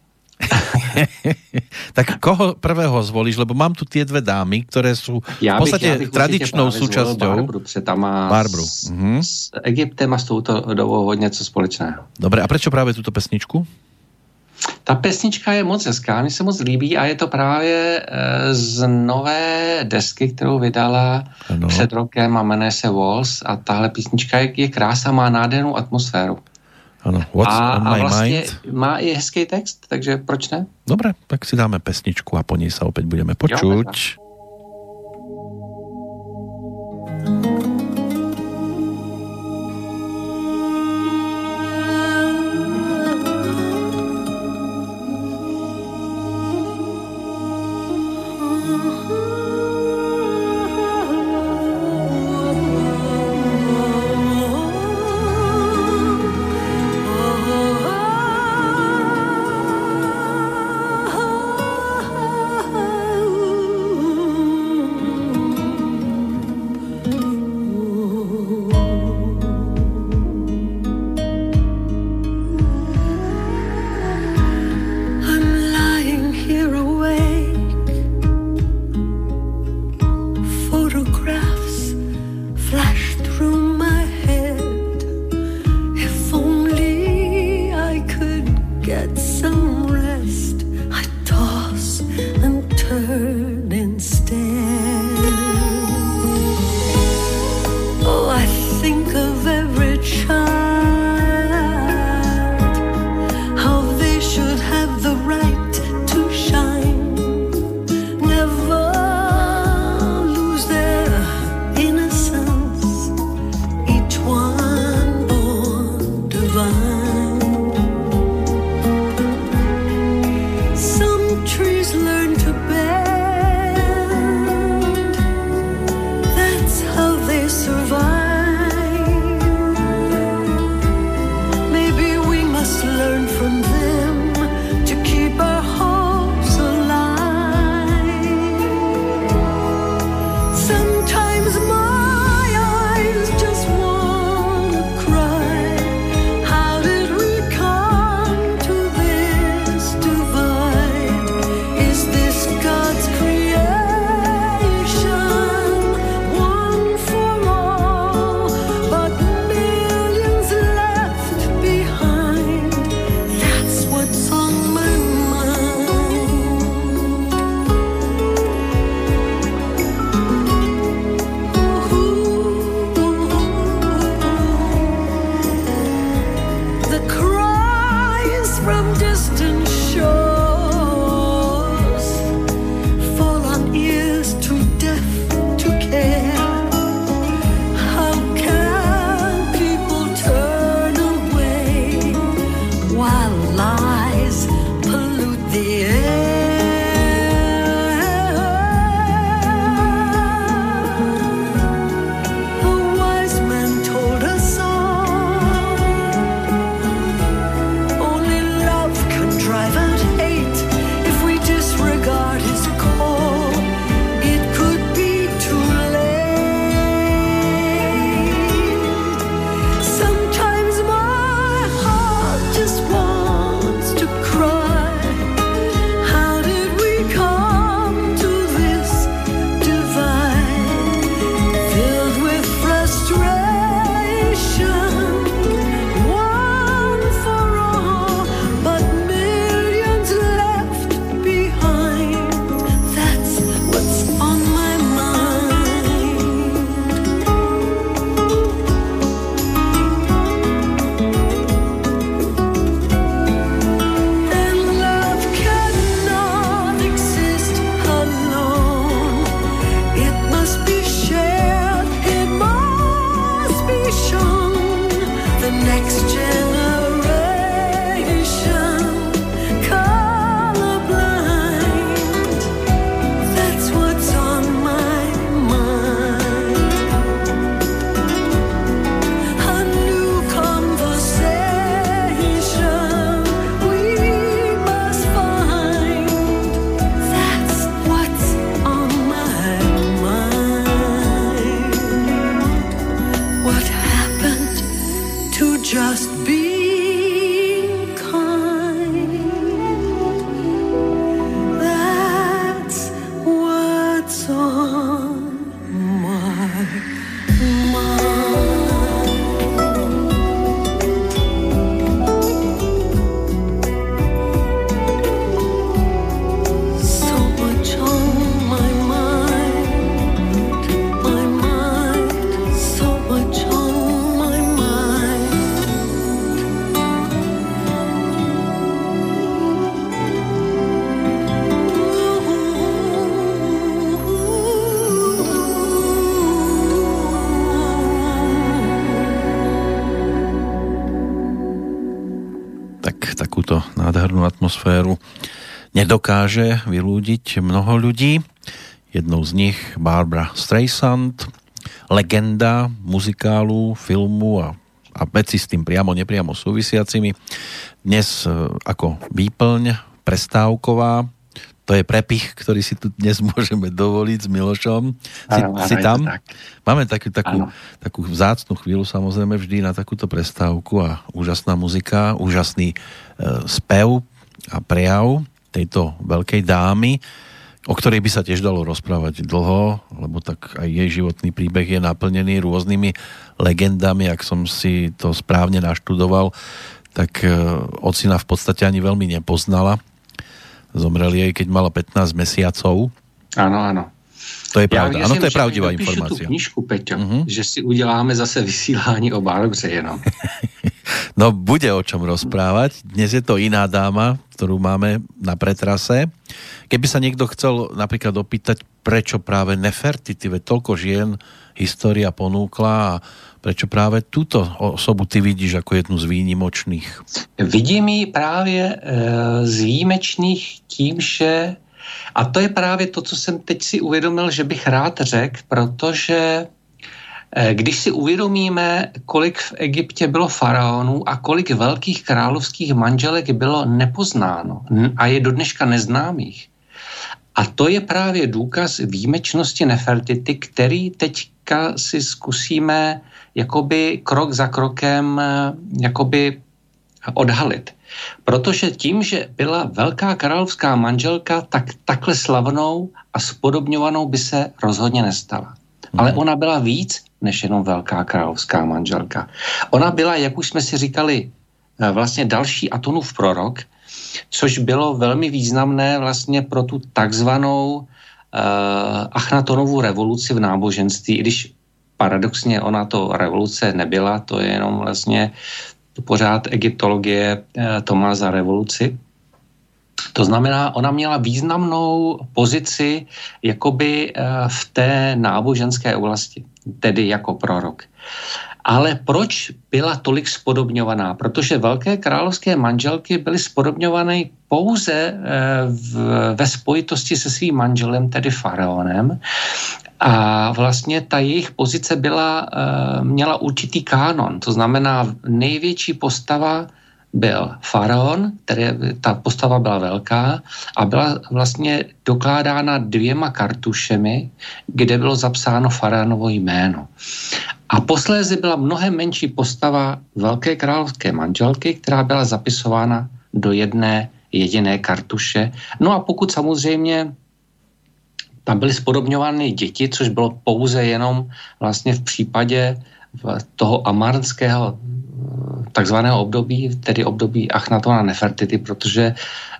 A: Tak koho prvého zvolíš? Lebo mám tu tie dve dámy, ktoré sú v podstate tradičnou súčasťou.
B: Barbru. S Egyptem a s touto dobou hodně co společného.
A: Dobre, a prečo práve túto pesničku?
B: Ta pesnička je moc hezká, mi se moc líbí a je to právě z nové desky, kterou vydala před rokem a jmenuje se Walls a tahle písnička je krásná, má nádhernou atmosféru.
A: Ano, What's on my
B: vlastně
A: mind?
B: Má i hezký text, takže proč ne?
A: Dobre, tak si dáme pesničku a po nej sa opäť budeme počuť. peknú atmosféru nedokáže vylúdiť mnoho ľudí. Jednou z nich Barbra Streisand, legenda muzikálu, filmu a veci s tým priamo, nepriamo súvisiacimi. Dnes ako výplň prestávková. To je prepich, ktorý si tu dnes môžeme dovoliť s Milošom. Si tam? Máme takú vzácnu chvíľu, samozrejme, vždy na takúto prestávku a úžasná muzika, úžasný spev a prejav tejto veľkej dámy, o ktorej by sa tiež dalo rozprávať dlho, lebo tak aj jej životný príbeh je naplnený rôznymi legendami. Ak som si to správne naštudoval, tak ocina v podstate ani veľmi nepoznala. Zomrel jej, keď mala 15 mesiacov.
B: Áno.
A: To je pravda. Áno, to je pravdivá informácia.
B: Tu knižku, Peťo, že si uděláme zase vysílání o Barbře jenom.
A: No, bude o čom rozprávať. Dnes je to iná dáma, ktorú máme na pretrase. Keby sa niekto chcel napríklad opýtať, prečo práve Nefertiti, veď toľko žien história ponúkla a prečo práve túto osobu ty vidíš ako jednu z výnimočných?
B: Vidím ji právě z výjimečných tím, že a to je právě to, co jsem teď si uvědomil, že bych rád řekl, protože když si uvědomíme, kolik v Egyptě bylo faraonů a kolik velkých královských manželek bylo nepoznáno a je do dneška neznámých. A to je právě důkaz výjimečnosti Nefertiti, který teďka si zkusíme jakoby krok za krokem jakoby odhalit. Protože tím, že byla velká královská manželka, tak takhle slavnou a spodobňovanou by se rozhodně nestala. Ale ona byla víc než jenom velká královská manželka. Ona byla, jak už jsme si říkali, vlastně další Atonův prorok, což bylo velmi významné vlastně pro tu takzvanou Achnatonovu revoluci v náboženství, i když paradoxně ona to revoluce nebyla, to je jenom vlastně pořád egyptologie to má za revoluci. To znamená, ona měla významnou pozici jakoby v té náboženské oblasti, tedy jako prorok. Ale proč byla tolik spodobňovaná? Protože velké královské manželky byly spodobňované pouze ve spojitosti se svým manželem, tedy faraonem. A vlastně ta jejich pozice měla určitý kánon. To znamená, největší postava byl faraon, ta postava byla velká a byla vlastně dokládána 2 kartušemi, kde bylo zapsáno faraonovo jméno. A posléze byla mnohem menší postava velké královské manželky, která byla zapisována do jedné jediné kartuše. No a pokud samozřejmě tam byly spodobňovány děti, což bylo pouze jenom vlastně v případě toho amarnského takzvaného období, tedy období Achnatona Nefertiti, protože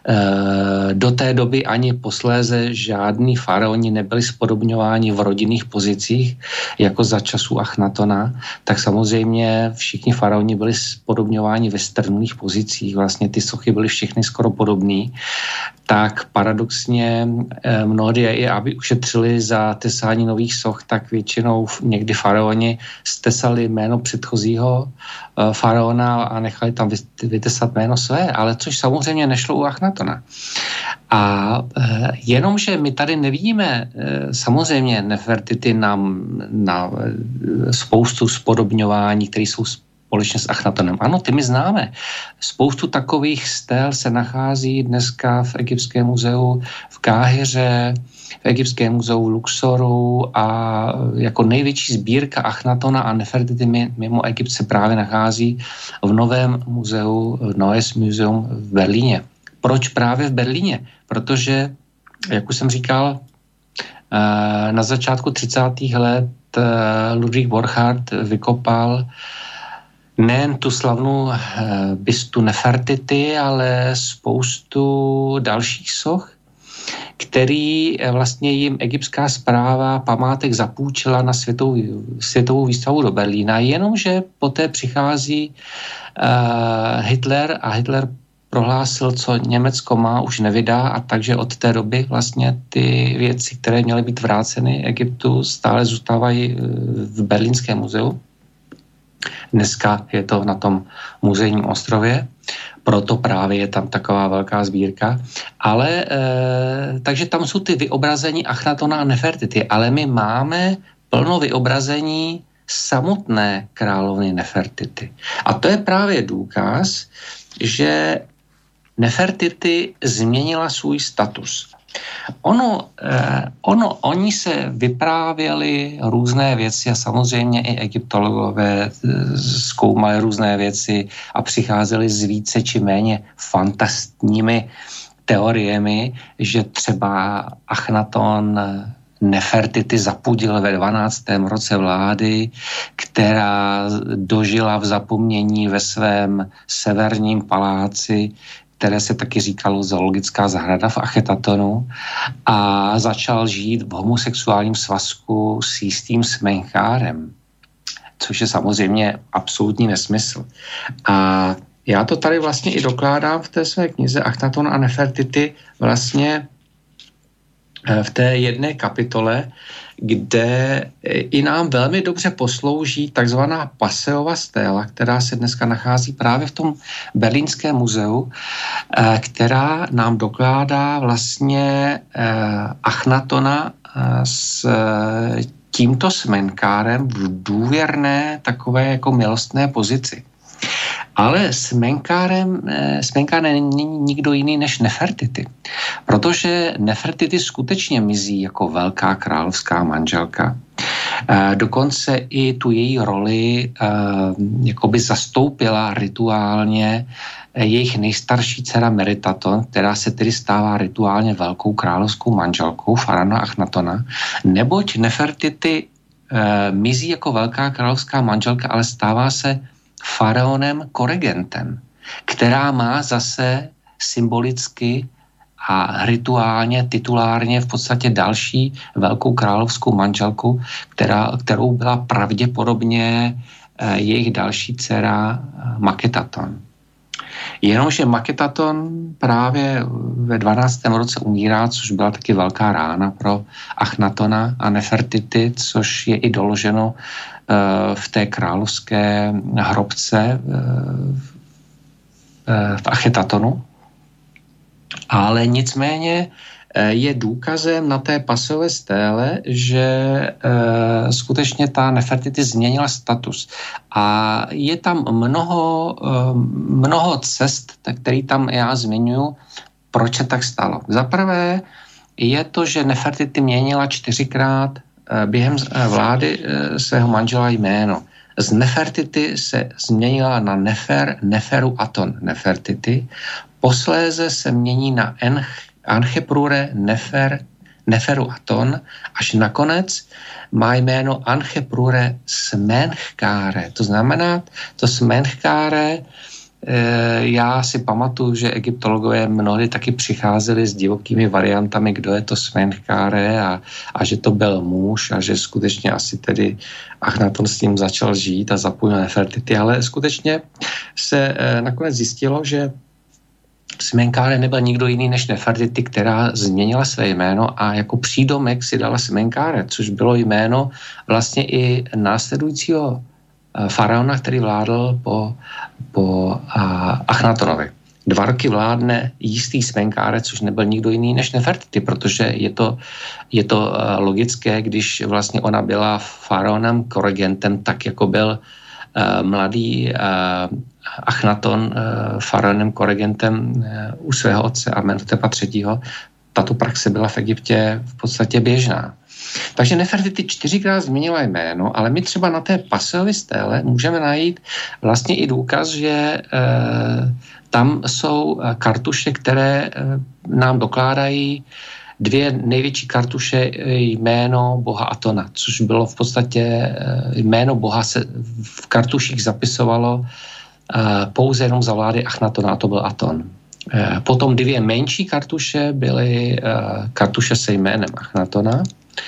B: do té doby ani posléze žádní faraoni nebyli spodobňováni v rodinných pozicích, jako za času Achnatona, tak samozřejmě všichni faraoni byli spodobňováni ve strnulých pozicích, vlastně ty sochy byly všechny skoro podobný, tak paradoxně mnohdy i aby ušetřili za tesání nových soch, tak většinou někdy faraoni stesali jméno předchozího faraona a nechali tam vytesat jméno své, ale což samozřejmě nešlo u Achnatona. A jenomže my tady nevidíme samozřejmě Nefertiti na spoustu spodobňování, které jsou společně s Achnatonem. Ano, ty my známe. Spoustu takových stél se nachází dneska v Egyptském muzeu v Káhiře, v Egyptském muzeu v Luxoru a jako největší sbírka Achnatona a Nefertiti mimo Egypt se právě nachází v novém muzeu, Neues Museum v Berlíně. Proč právě v Berlíně? Protože, jak už jsem říkal, na začátku 30. let Ludwig Borchardt vykopal nejen tu slavnou bystu Nefertiti, ale spoustu dalších soch, který vlastně jim egyptská správa památek zapůjčila na světovou výstavu do Berlína, jenomže poté přichází Hitler a Hitler prohlásil, co Německo má, už nevydá a takže od té doby vlastně ty věci, které měly být vráceny Egyptu, stále zůstávají v Berlínském muzeu. Dneska je to na tom muzejním ostrově. Proto právě je tam taková velká sbírka. Ale, takže tam jsou ty vyobrazení Achnatona a Nefertity, ale my máme plno vyobrazení samotné královny Nefertity. A to je právě důkaz, že Nefertity změnila svůj status. Oni se vyprávěli různé věci a samozřejmě i egyptologové zkoumali různé věci a přicházeli s více či méně fantastními teoriemi, že třeba Achnaton Nefertity zapudil ve 12. roce vlády, která dožila v zapomnění ve svém severním paláci, které se taky říkalo zoologická zahrada v Achetátonu, a začal žít v homosexuálním svazku s jistým Smenchárem, což je samozřejmě absolutní nesmysl. A já to tady vlastně i dokládám v té své knize Achnaton a Nefertity vlastně v té jedné kapitole, kde i nám velmi dobře poslouží takzvaná Passeova stéla, která se dneska nachází právě v tom Berlínském muzeu, která nám dokládá vlastně Achnatona s tímto Smenchárem v důvěrné takové jako milostné pozici. Ale Smenchár není nikdo jiný než Nefertity, protože Nefertity skutečně mizí jako velká královská manželka. Dokonce i tu její roli jakoby zastoupila rituálně jejich nejstarší dcera Meritaton, která se tedy stává rituálně velkou královskou manželkou faraona Achnatona, neboť Nefertity mizí jako velká královská manželka, ale stává se faraonem koregentem, která má zase symbolicky a rituálně, titulárně v podstatě další velkou královskou manželku, kterou byla pravděpodobně jejich další dcera Maketaton. Jenomže Maketaton právě ve 12. roce umírá, což byla taky velká rána pro Achnatona a Nefertity, což je i doloženo v té královské hrobce v Achetátonu. Ale nicméně je důkazem na té Passeové stéle, že skutečně ta Nefertity změnila status. A je tam mnoho cest, který tam já zmiňuji, proč se tak stalo. Za prvé je to, že Nefertity měnila 4krát během vlády svého manžela jméno. Z Nefertity se změnila na Neferu Aton Nefertity, posléze se mění na Ancheprure Neferu Aton, až nakonec má jméno Ancheprure Smenchkáre. To znamená, to Smenchkáre, já si pamatuju, že egyptologové mnohdy taky přicházeli s divokými variantami, kdo je to Smenchkáre a že to byl muž a že skutečně asi tedy Achnaton s ním začal žít a zapojil Nefertity, ale skutečně se nakonec zjistilo, že Smenchkáre nebyl nikdo jiný než Nefertity, která změnila své jméno a jako přídomek si dala Smenchkáre, což bylo jméno vlastně i následujícího faraona, který vládl po Achnatonovi. 2 roky vládne jistý Smenchkáre, což nebyl nikdo jiný než Nefertity, protože je to logické, když vlastně ona byla faraonem koregentem, tak jako byl mladý Achnaton faraonem koregentem u svého otce Amenhotepa III. Tato praxe byla v Egyptě v podstatě běžná. Takže Nefertity 4krát změnila jméno, ale my třeba na té Passeové stéle můžeme najít vlastně i důkaz, že tam jsou kartuše, které nám dokládají 2 největší kartuše jméno boha Atona, což bylo v podstatě jméno boha se v kartuších zapisovalo pouze jenom za vlády Achnatona, a to byl Aton. Potom 2 menší kartuše byly kartuše se jménem Achnatona.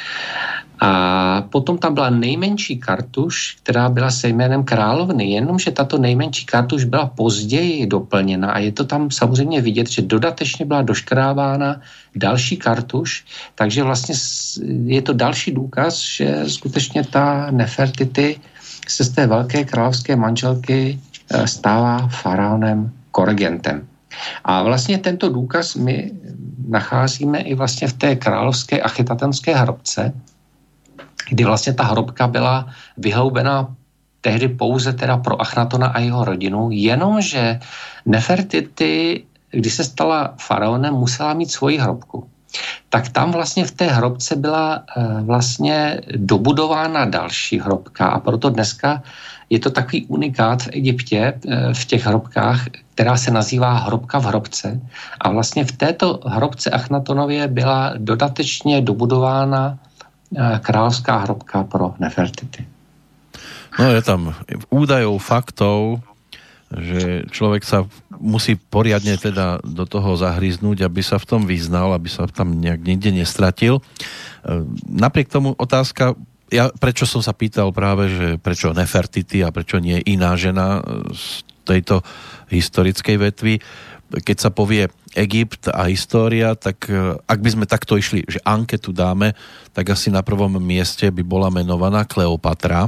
B: A potom tam byla nejmenší kartuš, která byla se jménem královny, jenomže tato nejmenší kartuš byla později doplněna a je to tam samozřejmě vidět, že dodatečně byla doškrábána další kartuš, takže vlastně je to další důkaz, že skutečně ta Nefertity se z té velké královské manželky stává faraonem koregentem. A vlastně tento důkaz my nacházíme i vlastně v té královské Achetatonské hrobce, kdy vlastně ta hrobka byla vyhloubená tehdy pouze teda pro Achnatona a jeho rodinu, jenomže Nefertiti, když se stala faraonem, musela mít svoji hrobku. Tak tam vlastně v té hrobce byla vlastně dobudována další hrobka a proto dneska je to takový unikát v Egyptě, v těch hrobkách, která se nazývá hrobka v hrobce. A vlastně v této hrobce Achnatonově byla dodatečně dobudována kráľovská hrobka pro Nefertiti.
A: No je tam údajov, faktov, že človek sa musí poriadne teda do toho zahryznúť, aby sa v tom vyznal, aby sa tam nejak nikde nestratil. Napriek tomu otázka, prečo som sa pýtal práve, že prečo Nefertiti a prečo nie iná žena z tejto historickej vetvy. Keď sa povie Egypt a história, tak ak by sme takto išli, že anketu dáme, tak asi na prvom mieste by bola menovaná Kleopatra.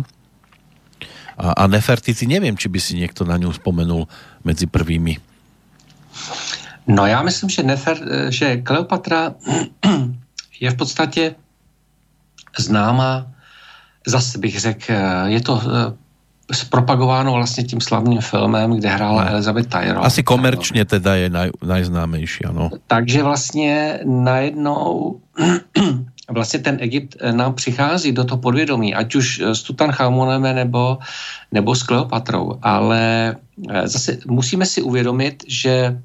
A: A Nefertiti, neviem, či by si niekto na ňu spomenul medzi prvými.
B: No já myslím, že Kleopatra je v podstatě známá, zase bych řekl, je to zpropagováno vlastně tím slavným filmem, kde hrála Elizabeth Taylor.
A: Asi komerčně teda je najznámejší, ano. Takže
B: vlastně najednou vlastně ten Egypt nám přichází do toho podvědomí, ať už s Tutanchamonem nebo s Kleopatrou, ale zase musíme si uvědomit, že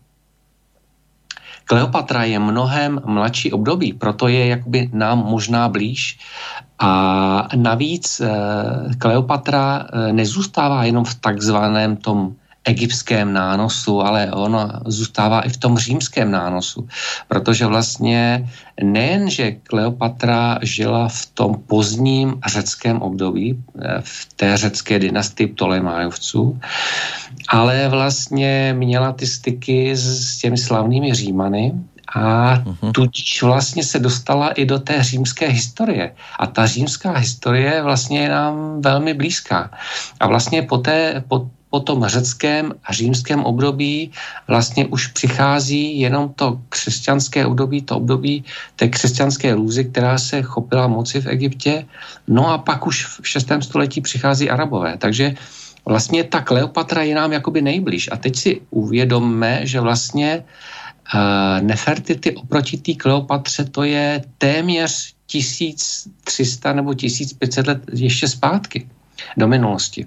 B: Kleopatra je mnohem mladší období, proto je jakoby nám možná blíž. A navíc Kleopatra nezůstává jenom v takzvaném tom egyptském nánosu, ale ona zůstává i v tom římském nánosu. Protože vlastně nejen, že Kleopatra žila v tom pozdním řeckém období, v té řecké dynastii Ptolemajovců, ale vlastně měla ty styky s těmi slavnými Římany a tudíž vlastně se dostala i do té římské historie. A ta římská historie vlastně je nám velmi blízká. A vlastně po tom řeckém a římském období vlastně už přichází jenom to křesťanské období, to období té křesťanské růzy, která se chopila moci v Egyptě. No a pak už v 6. století přichází Arabové. Takže vlastně ta Kleopatra je nám jakoby nejblíž. A teď si uvědomme, že vlastně Nefertiti oproti té Kleopatře to je téměř 1300 nebo 1500 let ještě zpátky do minulosti.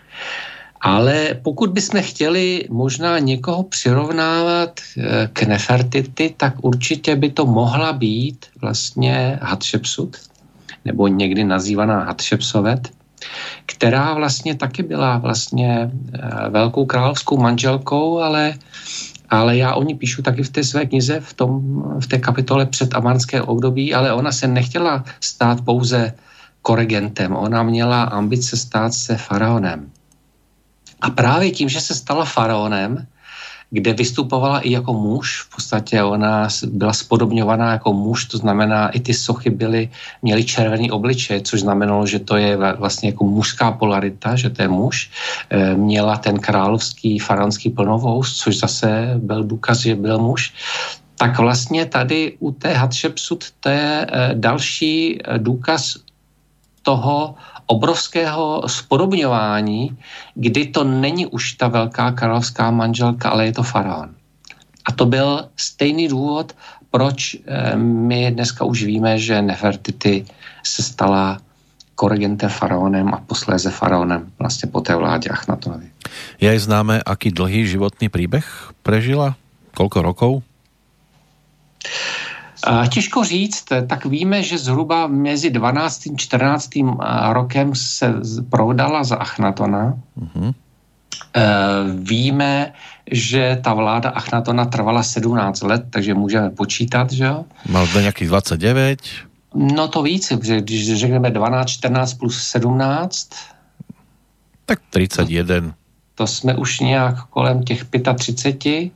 B: Ale pokud bychom chtěli možná někoho přirovnávat k Nefertiti, tak určitě by to mohla být vlastně Hatšepsut, nebo někdy nazývaná Hatšepsovet, která vlastně taky byla vlastně velkou královskou manželkou, ale já o ní píšu taky v té své knize, v té kapitole před amarské období, ale ona se nechtěla stát pouze koregentem, ona měla ambice stát se faraonem. A právě tím, že se stala faraonem, kde vystupovala i jako muž, v podstatě ona byla spodobňovaná jako muž, to znamená, i ty sochy měly červený obličej, což znamenalo, že to je vlastně jako mužská polarita, že to je muž. Měla ten královský faraonský plnovous, což zase byl důkaz, že byl muž. Tak vlastně tady u té Hatšepsut to je další důkaz toho obrovského spodobňování, kdy to není už ta velká královská manželka, ale je to faraon. A to byl stejný důvod, proč my dneska už víme, že Nefertiti se stala koregentem faraonem a posléze faraonem vlastně po té vládě Achnatonovi.
A: Je aj známe, aký dlhý životný príbeh prežila? Koľko rokov?
B: Těžko říct, tak víme, že zhruba mezi 12. a 14. rokem se prodala za Achnatona. Víme, že ta vláda Achnatona trvala 17 let, takže můžeme počítat, že jo?
A: Mal to nějakých 29?
B: No to víc, když řekneme 12, 14 plus 17.
A: Tak 31.
B: To jsme už nějak kolem těch 35.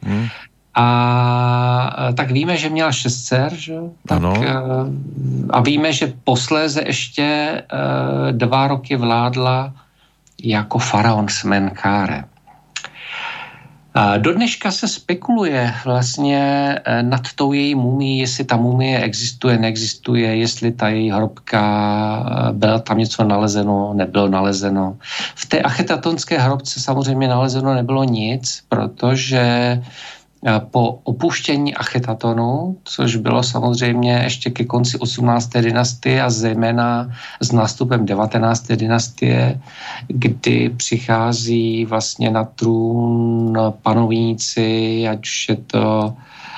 B: A tak víme, že měla 6 dcer, že? Tak, a víme, že posléze ještě 2 roky vládla jako faraon s Menkáre. Do dneška se spekuluje vlastně nad tou její mumií, jestli ta mumie existuje, neexistuje, jestli ta její hrobka, byla tam něco nalezeno, nebylo nalezeno. V té achytatonské hrobce samozřejmě nalezeno nebylo nic, protože po opuštění Achytatonu, což bylo samozřejmě ještě ke konci 18. dynastie a zejména s nástupem 19. dynastie, kdy přichází vlastně na trůn panovníci, ať už je to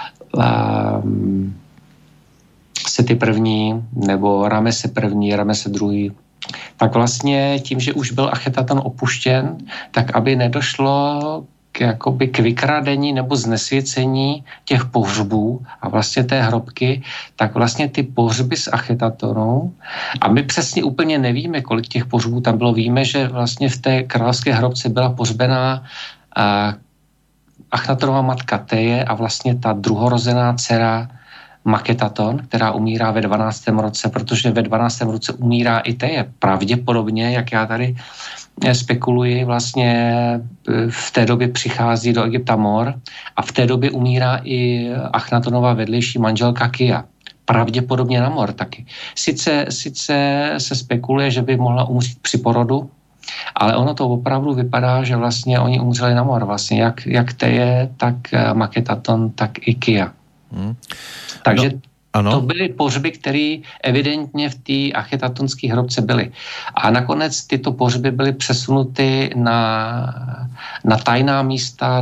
B: Seti první nebo Ramese první, Ramese druhý, tak vlastně tím, že už byl Achytaton opuštěn, tak aby nedošlo k vykradení nebo znesvěcení těch pohřbů a vlastně té hrobky, tak vlastně ty pohřby z Achytatonu, a my přesně úplně nevíme, kolik těch pohřbů tam bylo, víme, že vlastně v té královské hrobce byla pohřbená Achytatonova matka Teje a vlastně ta druhorozená dcera Maketaton, která umírá ve 12. roce, protože ve 12. roce umírá i Teje. Pravděpodobně, jak já tady spekuluji, vlastně v té době přichází do Egypta mor a v té době umírá i Achnatonova vedlejší manželka Kia. Pravděpodobně na mor taky. Sice se spekuluje, že by mohla umřít při porodu, ale ono to opravdu vypadá, že vlastně oni umřeli na mor. Vlastně jak Teje, tak Maketaton, tak i Kia. Takže to byly pohřby, které evidentně v té achytatonské hrobce byly. A nakonec tyto pohřby byly přesunuty na tajná místa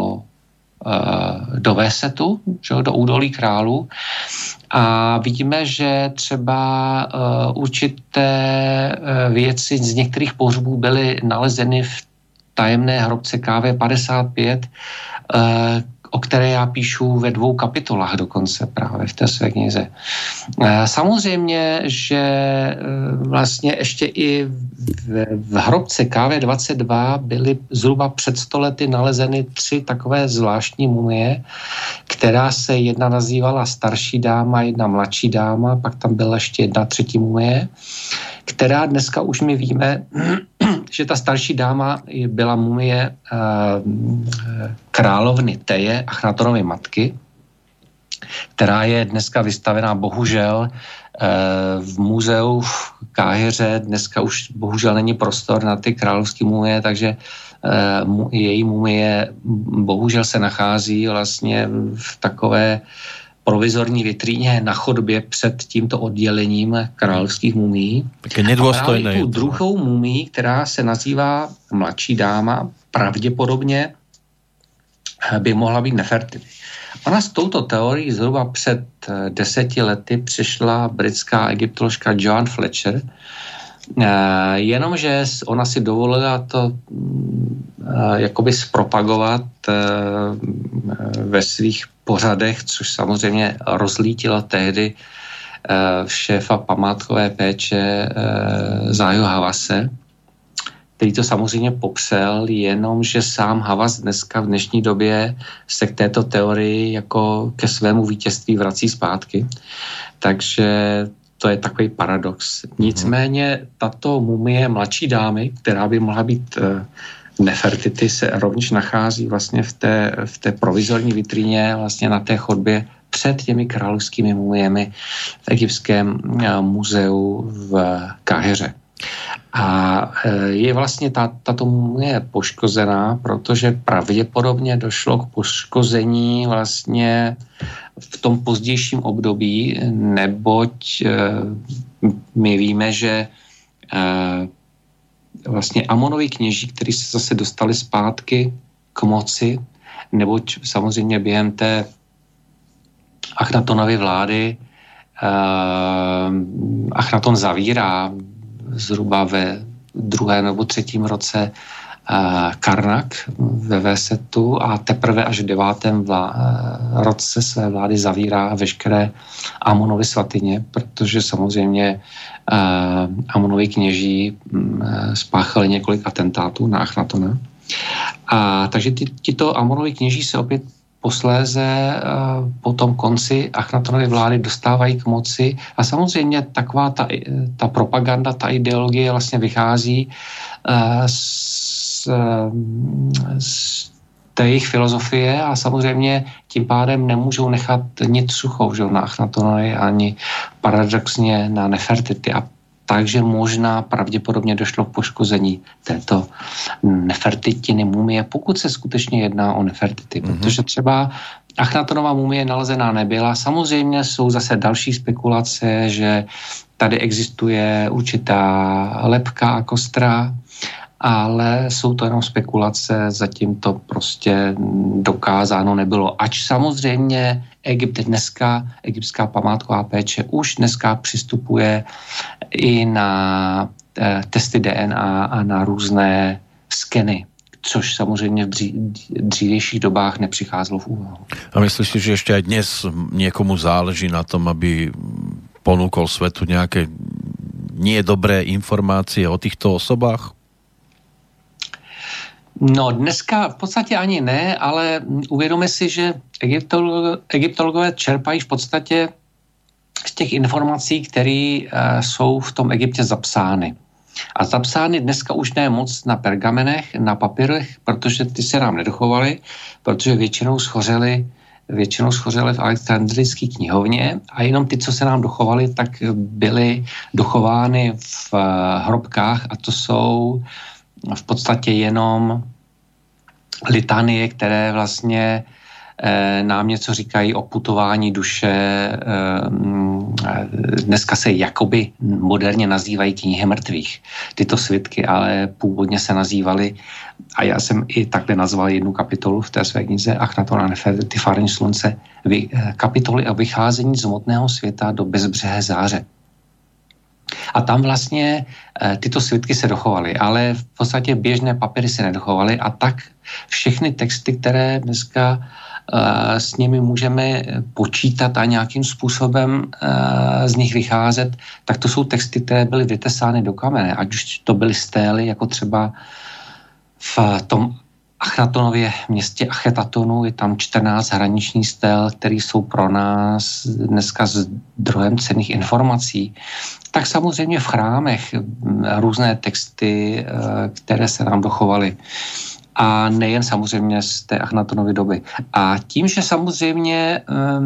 B: do Vésetu, do údolí králů. A vidíme, že třeba určité věci z některých pohřbů byly nalezeny v tajemné hrobce KV55, o které já píšu ve 2 kapitolách dokonce právě v té své knize. Samozřejmě, že vlastně ještě i v hrobce KV22 byly zhruba před 100 lety nalezeny 3 takové zvláštní mumie, která se jedna nazývala starší dáma, jedna mladší dáma, pak tam byla ještě jedna třetí mumie, která dneska už my víme, že ta starší dáma byla mumie královny Teje, Achnatonovy matky, která je dneska vystavená bohužel v muzeu v Káhiře. Dneska už bohužel není prostor na ty královské mumie, takže její mumie bohužel se nachází vlastně v takové provizorní vitríně na chodbě před tímto oddělením královských mumií.
A: Také nedôstojné.
B: A právě tu druhou mumii, která se nazývá mladší dáma, pravděpodobně by mohla být Nefertiti. Ona s touto teorií zhruba před 10 lety přišla britská egyptoložka Joan Fletcher, jenomže ona si dovolila to jakoby zpropagovat ve svých pořadech, což samozřejmě rozlítilo tehdy šéfa památkové péče Záju Havase, který to samozřejmě popřel, jenomže sám Havas dneska v dnešní době se k této teorii jako ke svému vítězství vrací zpátky. Takže to je takový paradox. Nicméně tato mumie mladší dámy, která by mohla být Nefertiti, se rovněž nachází vlastně v té provizorní vitríně vlastně na té chodbě před těmi královskými mumiemi v egyptském muzeu v Káhiře. A je vlastně tato mumie poškozená, protože pravděpodobně došlo k poškození vlastně v tom pozdějším období, neboť my víme, že vlastně Amonovi kněží, kteří se zase dostali zpátky k moci, neboť samozřejmě během té Achnatonovy vlády Achnaton zavírá zhruba ve 2. nebo 3. roce Karnak ve Vésetu a teprve až v 9. roce své vlády zavírá veškeré Amonovy svatyně, protože samozřejmě Amonovi kněží spáchali několik atentátů na Achnatona. Takže tito Amonovi kněží se opět posléze po tom konci Achnatonovy vlády dostávají k moci a samozřejmě taková ta propaganda, ta ideologie vlastně vychází z to je jejich filozofie a samozřejmě tím pádem nemůžou nechat nic suchou, že na Achnatonovi ani paradoxně na Nefertiti. A takže možná pravděpodobně došlo k poškození této Nefertitiny mumie, pokud se skutečně jedná o Nefertiti, protože třeba Achnatonová mumie nalezená nebyla. Samozřejmě jsou zase další spekulace, že tady existuje určitá lebka a kostra, ale jsou to jenom spekulace, zatím to prostě dokázáno nebylo. Ač samozřejmě Egypt dneska, egyptská památková péče už dneska přistupuje i na testy DNA a na různé skeny, což samozřejmě v dřívějších dobách nepřicházelo v úvahu.
A: A myslíš si, že ešte aj dnes niekomu záleží na tom, aby ponúkol svetu nejaké nie dobré informácie o týchto osobách?
B: No dneska v podstatě ani ne, ale uvědomme si, že egyptologové čerpají v podstatě z těch informací, které jsou v tom Egyptě zapsány. A zapsány dneska už ne moc na pergamenech, na papírech, protože ty se nám nedochovaly, protože většinou schořely v Alexandrijské knihovně a jenom ty, co se nám dochovaly, tak byly dochovány v hrobkách a to jsou v podstatě jenom litanie, které vlastně nám něco říkají o putování duše. Dneska se jakoby moderně nazývají knihy mrtvých. Tyto svitky, ale původně se nazývaly, a já jsem i takhle nazval jednu kapitolu v té své knize Achnaton a Nefertiti, Fáreň slunce, kapitoly o vycházení z hmotného světa do bezbřehé záře. A tam vlastně tyto svitky se dochovaly, ale v podstatě běžné papíry se nedochovaly a tak všechny texty, které dneska s nimi můžeme počítat a nějakým způsobem z nich vycházet, tak to jsou texty, které byly vytesány do kamene, ať už to byly stély, jako třeba v tom Achnatonově městě Achetatonu je tam 14 hraničních stél, které jsou pro nás dneska zdrojem cenných informací. Tak samozřejmě v chrámech různé texty, které se nám dochovaly. A nejen samozřejmě z té Achnatonovy doby. A tím, že samozřejmě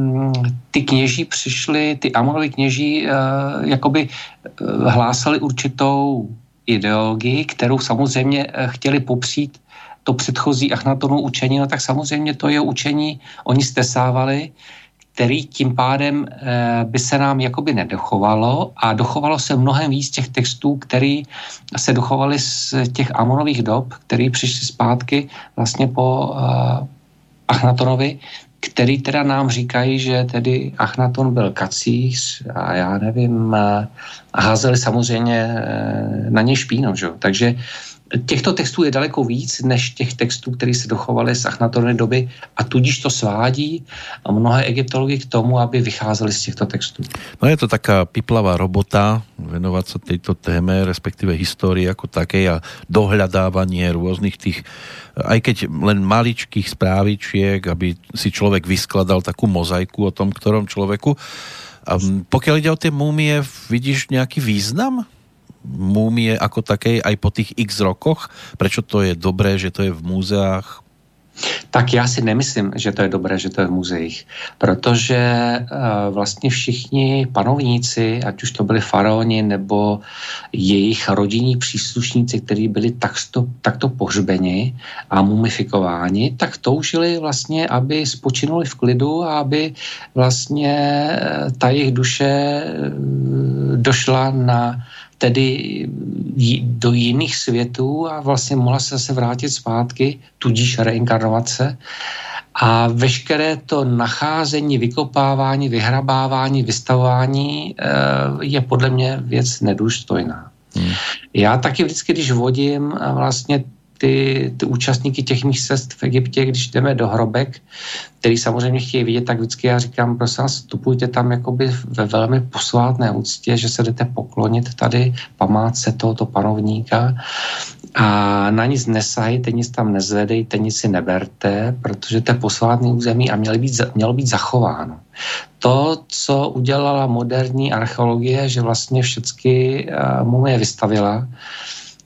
B: ty kněží přišli, ty Amonovi kněží jakoby hlásali určitou ideologii, kterou samozřejmě chtěli popřít to předchozí Achnatonovo učení, no tak samozřejmě to jeho učení oni stesávali, který tím pádem by se nám jakoby nedochovalo a dochovalo se mnohem víc těch textů, který se dochovaly z těch Amonových dob, který přišli zpátky vlastně po Achnatonovi, který teda nám říkají, že tedy Achnaton byl kacíř a já nevím, a házeli samozřejmě na něj špínu, že? Takže těchto textů je daleko víc, než těch textů, které se dochovaly z Achnatonovy doby a tudíž to svádí mnohé egyptology k tomu, aby vycházeli z těchto textů.
A: No je to taká piplavá robota, venovať sa tejto téme, respektíve histórii ako takej a dohľadávanie rôznych tých, aj keď len maličkých správičiek, aby si človek vyskladal takú mozaiku o tom, ktorom človeku. A pokiaľ ide o tie múmie, vidíš nejaký význam múmie ako takej aj po tých x rokoch? Prečo to je dobré, že to je v múzeách?
B: Tak já si nemyslím, že to je dobré, že to je v muzeích, protože vlastně všichni panovníci, ať už to byli faraoni nebo jejich rodinní příslušníci, kteří byli takto pohřbeni a mumifikováni, tak toužili vlastně, aby spočinuli v klidu a aby vlastně ta jejich duše došla tedy do jiných světů a vlastně mohla se zase vrátit zpátky, tudíž reinkarnovace. A veškeré to nacházení, vykopávání, vyhrabávání, vystavování je podle mě věc nedůstojná. Já taky vždycky, když vodím vlastně ty účastníky těch mých cest v Egyptě, když jdeme do hrobek, který samozřejmě chtějí vidět, tak vždycky já říkám, prosím vás, vstupujte tam jakoby ve velmi posvátné úctě, že se jdete poklonit tady památce tohoto panovníka a na nic nesahejte, nic tam nezvedejte, nic si neberte, protože to je posvátný území a mělo být zachováno. To, co udělala moderní archeologie, že vlastně všechny mumie vystavila,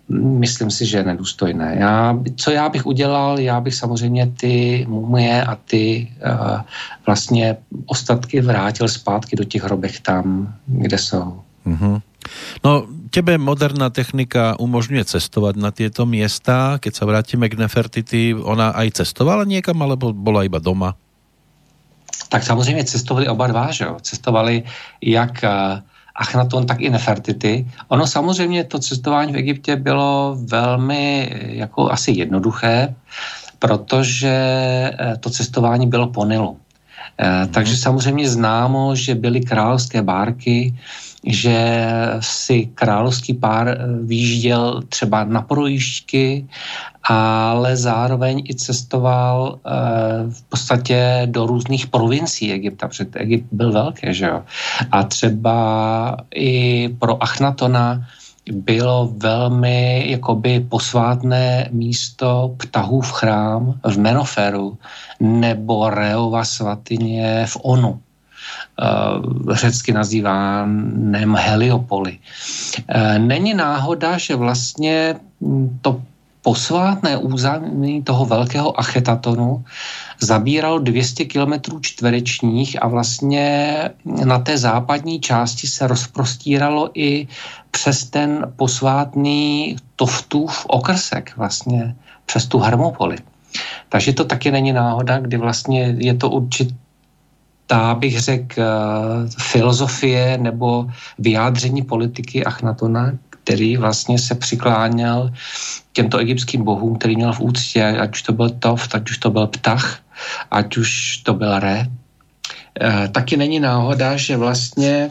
B: myslím si, že je nedůstojné. Co já bych udělal, já bych samozřejmě ty mumie a ty vlastně ostatky vrátil zpátky do těch hrobek tam, kde jsou.
A: Mm-hmm. No, tebe moderná technika umožňuje cestovať na tieto miesta. Keď sa vrátime k Nefertiti, ona aj cestovala niekam, alebo bola iba doma?
B: Tak samozřejmě cestovali oba dva, že jo? Cestovali jak Achnaton, tak i Nefertiti. Ono samozřejmě to cestování v Egyptě bylo velmi jako asi jednoduché, protože to cestování bylo po Nilu. Takže samozřejmě známo, že byly královské bárky, že si královský pár vyjížděl třeba na projížďky, ale zároveň i cestoval v podstatě do různých provincií Egypta, protože Egypt byl velký, že jo. A třeba i pro Achnatona bylo velmi jakoby posvátné místo Ptahův chrám v Menoferu nebo Reova svatyně v Onu, řecky nazývaném Heliopoli. Není náhoda, že vlastně to posvátné území toho velkého Achetatonu zabíralo 200 km čtverečních a vlastně na té západní části se rozprostíralo i přes ten posvátný Toftův okrsek, vlastně přes tu Hermopoli. Takže to taky není náhoda, kdy vlastně je to určitá, bych řekl, filozofie nebo vyjádření politiky Achnatona, který vlastně se přikláněl těmto egyptským bohům, který měl v úctě, ať už to byl Toft, ať už to byl Ptah, ať už to byl Re. Taky není náhoda, že vlastně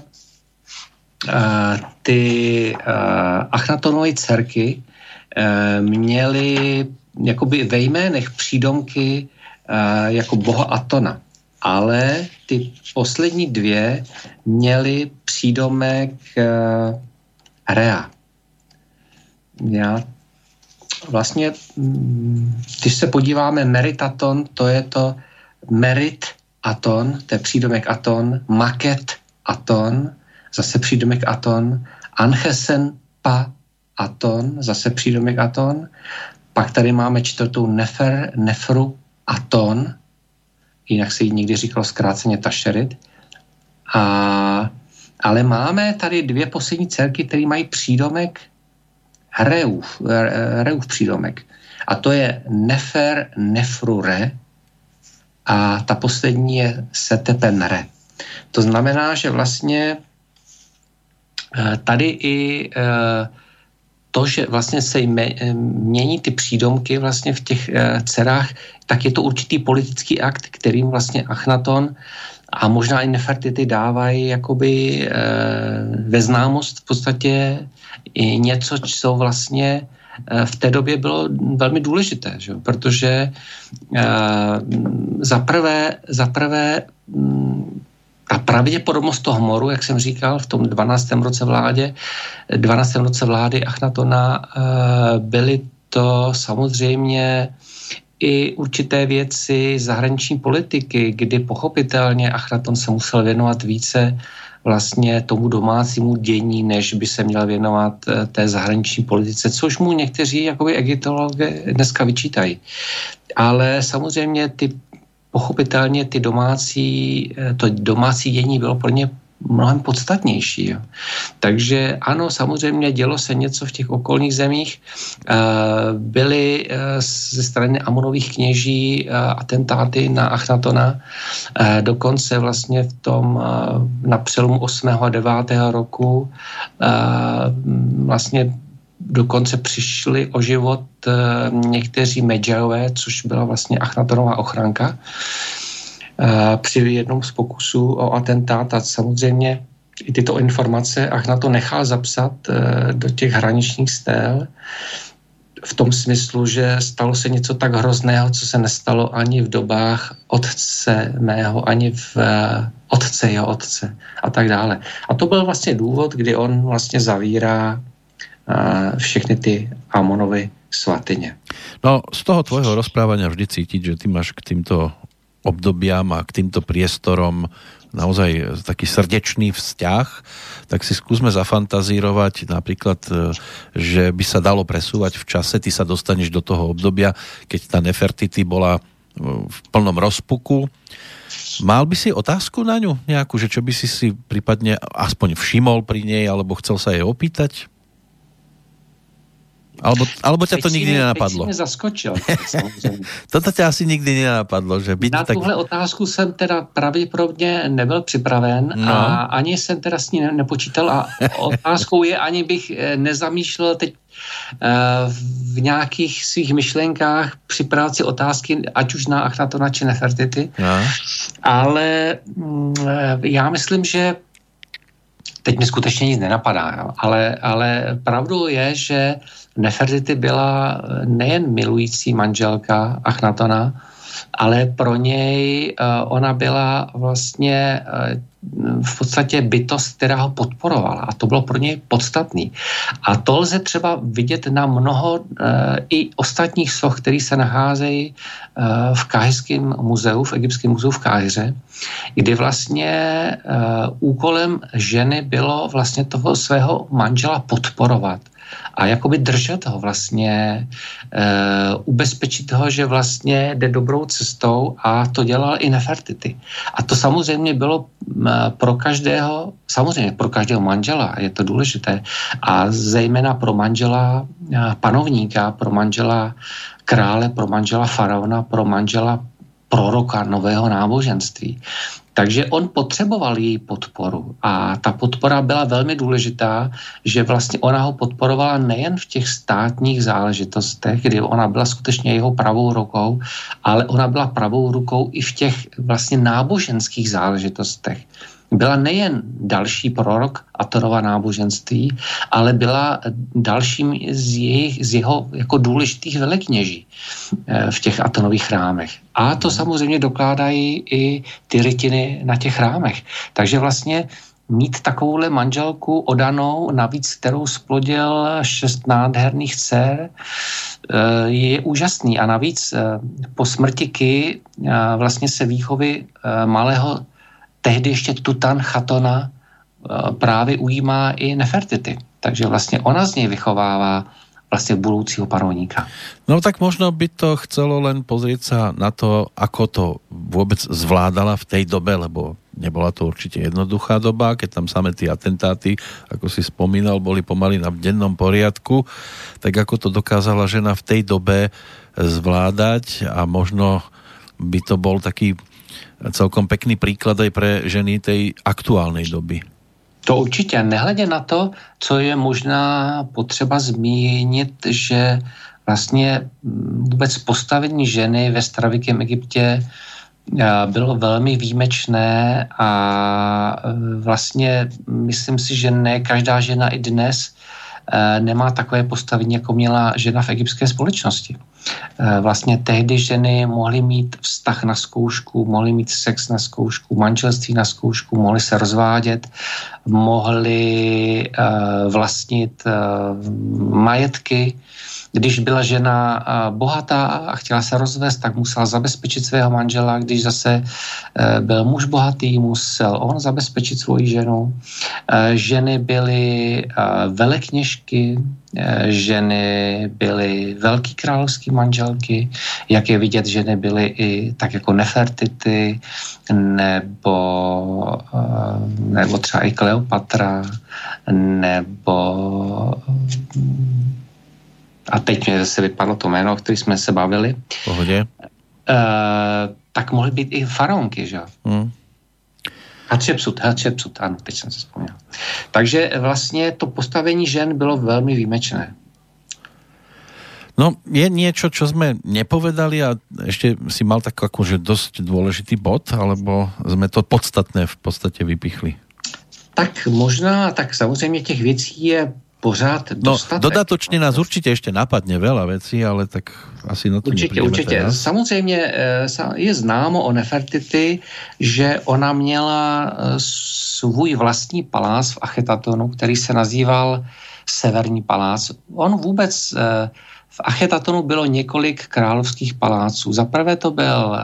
B: ty Achnatonovy dcerky měly jakoby ve jménech přídomky jako boha Atona, ale ty poslední dvě měly přídomek Rea. Já vlastně, když se podíváme Meritaton, to je to Merit Aton, to je přídomek Aton, Maket Aton, zase přídomek Aton, Anchesen Pa Aton, zase přídomek Aton, pak tady máme čtvrtou Nefru Aton, jinak se jí někdy říkalo zkráceně Tašerit, ale máme tady dvě poslední dcerky, které mají přídomek Reův přídomek. A to je Nefer Nefru Re a ta poslední je Setepen Re. To znamená, že vlastně tady i to, že vlastně se mění ty přídomky vlastně v těch dcerách, tak je to určitý politický akt, kterým vlastně Achnaton a možná i Nefertiti dávají jakoby ve známost v podstatě i něco, co vlastně v té době bylo velmi důležité, že? Protože za prvé ta pravděpodobnost toho moru, jak jsem říkal, v tom 12. roce vlády Achnatona byly to samozřejmě i určité věci zahraniční politiky, kdy pochopitelně Achnaton se musel věnovat více vlastně tomu domácímu dění, než by se měl věnovat té zahraniční politice, což mu někteří jakoby egyptologové dneska vyčítají. Ale samozřejmě pochopitelně to domácí dění bylo pro ně mnohem podstatnější. Jo. Takže ano, samozřejmě dělo se něco v těch okolních zemích. Byly ze strany Amonových kněží atentáty na Achnatona. Dokonce vlastně na přelomu 8. a 9. roku vlastně dokonce přišli o život někteří Medžajové, což byla vlastně Achnatonová ochranka. Při jednom z pokusů o atentát a samozřejmě i tyto informace Achnaton nechal zapsat do těch hraničních stél v tom smyslu, že stalo se něco tak hrozného, co se nestalo ani v dobách otce mého, ani v otce jeho otce a tak dále. A to byl vlastně důvod, kdy on vlastně zavírá všechny ty Amonovy svatyně.
A: No, z toho tvojho rozprávania vždy cítiť, že ty máš k týmto obdobiam a k týmto priestorom naozaj taký srdečný vzťah, tak si skúsme zafantazírovať napríklad, že by sa dalo presúvať v čase, ty sa dostaneš do toho obdobia, keď tá Nefertiti bola v plnom rozpuku. Mal by si otázku na ňu nejakú, že čo by si prípadne aspoň všimol pri nej, alebo chcel sa jej opýtať? Alebo ťa to nikdy nenapadlo?
B: Teď si mě zaskočil.
A: Toto ťa asi nikdy nenapadlo, že byť
B: na tuhle otázku jsem teda pravděpodobně nebyl připraven a ani jsem teda s ní nepočítal a otázkou je, ani bych nezamýšlel teď v nějakých svých myšlenkách připravit si otázky, ať už na Achnatona či Nefertiti. Ale já myslím, že teď mi skutečně nic nenapadá, ale pravdou je, že Nefertiti byla nejen milující manželka Achnatona, ale pro něj ona byla vlastně v podstatě bytost, která ho podporovala a to bylo pro něj podstatný. A to lze třeba vidět na mnoho i ostatních soch, které se nacházejí v Káhirském muzeu, v egyptském muzeu v Káhiře, kdy vlastně úkolem ženy bylo vlastně toho svého manžela podporovat a jakoby držet ho vlastně, ubezpečit ho, že vlastně jde dobrou cestou a to dělal i Nefertiti. A to samozřejmě bylo pro každého, samozřejmě pro každého manžela, je to důležité, a zejména pro manžela panovníka, pro manžela krále, pro manžela faraona, pro manžela proroka nového náboženství. Takže on potřeboval její podporu a ta podpora byla velmi důležitá, že vlastně ona ho podporovala nejen v těch státních záležitostech, kdy ona byla skutečně jeho pravou rukou, ale ona byla pravou rukou i v těch vlastně náboženských záležitostech. Byla nejen další prorok Atonova náboženství, ale byla dalším z jeho jako důležitých velekněží v těch Atonových chrámech. A to samozřejmě dokládají i ty rytiny na těch chrámech. Takže vlastně mít takovouhle manželku odanou, navíc kterou splodil 6 nádherných dcer, je úžasný. A navíc po smrti Ki vlastně se výchovy malého tehdy ještě Tutanchatona právě ujímá i Nefertiti. Takže vlastně ona z něj vychovává vlastně budoucího panovníka.
A: No tak možno by to chcelo len pozrieť sa na to, ako to vôbec zvládala v tej dobe, lebo nebola to určite jednoduchá doba, keď tam samé tie atentáty, ako si spomínal, boli pomaly na dennom poriadku, tak ako to dokázala žena v tej dobe zvládať a možno by to bol taký celkom pekný príklad aj pre ženy tej aktuálnej doby.
B: To určitě, nehledě na to, co je možná potřeba zmínit, že vlastně vůbec postavení ženy ve starověkém Egyptě bylo velmi výjimečné a vlastně myslím si, že ne každá žena i dnes nemá takové postavení, jako měla žena v egyptské společnosti. Vlastně tehdy ženy mohly mít vztah na zkoušku, mohly mít sex na zkoušku, manželství na zkoušku, mohly se rozvádět, mohly vlastnit majetky. Když byla žena bohatá a chtěla se rozvést, tak musela zabezpečit svého manžela. Když zase byl muž bohatý, musel on zabezpečit svoji ženu. Ženy byly velekněžky, ženy byly velký královský manželky, jak je vidět, ženy byly i tak jako Nefertiti, nebo třeba i Kleopatra, nebo a teď mě zase vypadlo to jméno, o kterém jsme se bavili.
A: Pohodě.
B: Tak mohly být i faraonky, že? Hatšepsut, ano, teď jsem se vzpomněl. Takže vlastně to postavení žen bylo velmi výjimečné.
A: No, je niečo, čo sme nepovedali a ešte si mal tak akože dosť dôležitý bod, alebo sme to podstatné v podstate vypichli?
B: Tak možná, tak samozřejmě těch věcí je pořád dostatek.
A: No, dodatočne nás určite ešte napadne veľa vecí, ale tak asi na to neprídeme teraz.
B: Samozřejmě je známo o Nefertiti, že ona měla svůj vlastní palác v Achetatonu, který se nazýval Severní palác. On vůbec v Achetatonu bylo několik královských paláců. Zaprvé to byl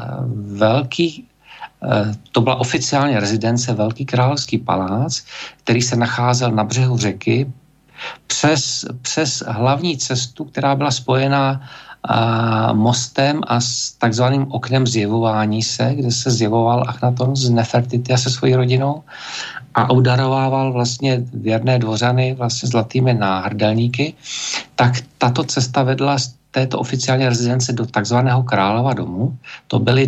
B: to byla oficiálně rezidence Velký královský palác, který se nacházel na břehu řeky přes hlavní cestu, která byla spojená mostem a s takzvaným oknem zjevování se, kde se zjevoval Achnaton z Nefertiti a se svojí rodinou a obdarovával vlastně věrné dvořany vlastně zlatými náhrdelníky, tak tato cesta vedla z této oficiální rezidence do takzvaného Králova domu. To byly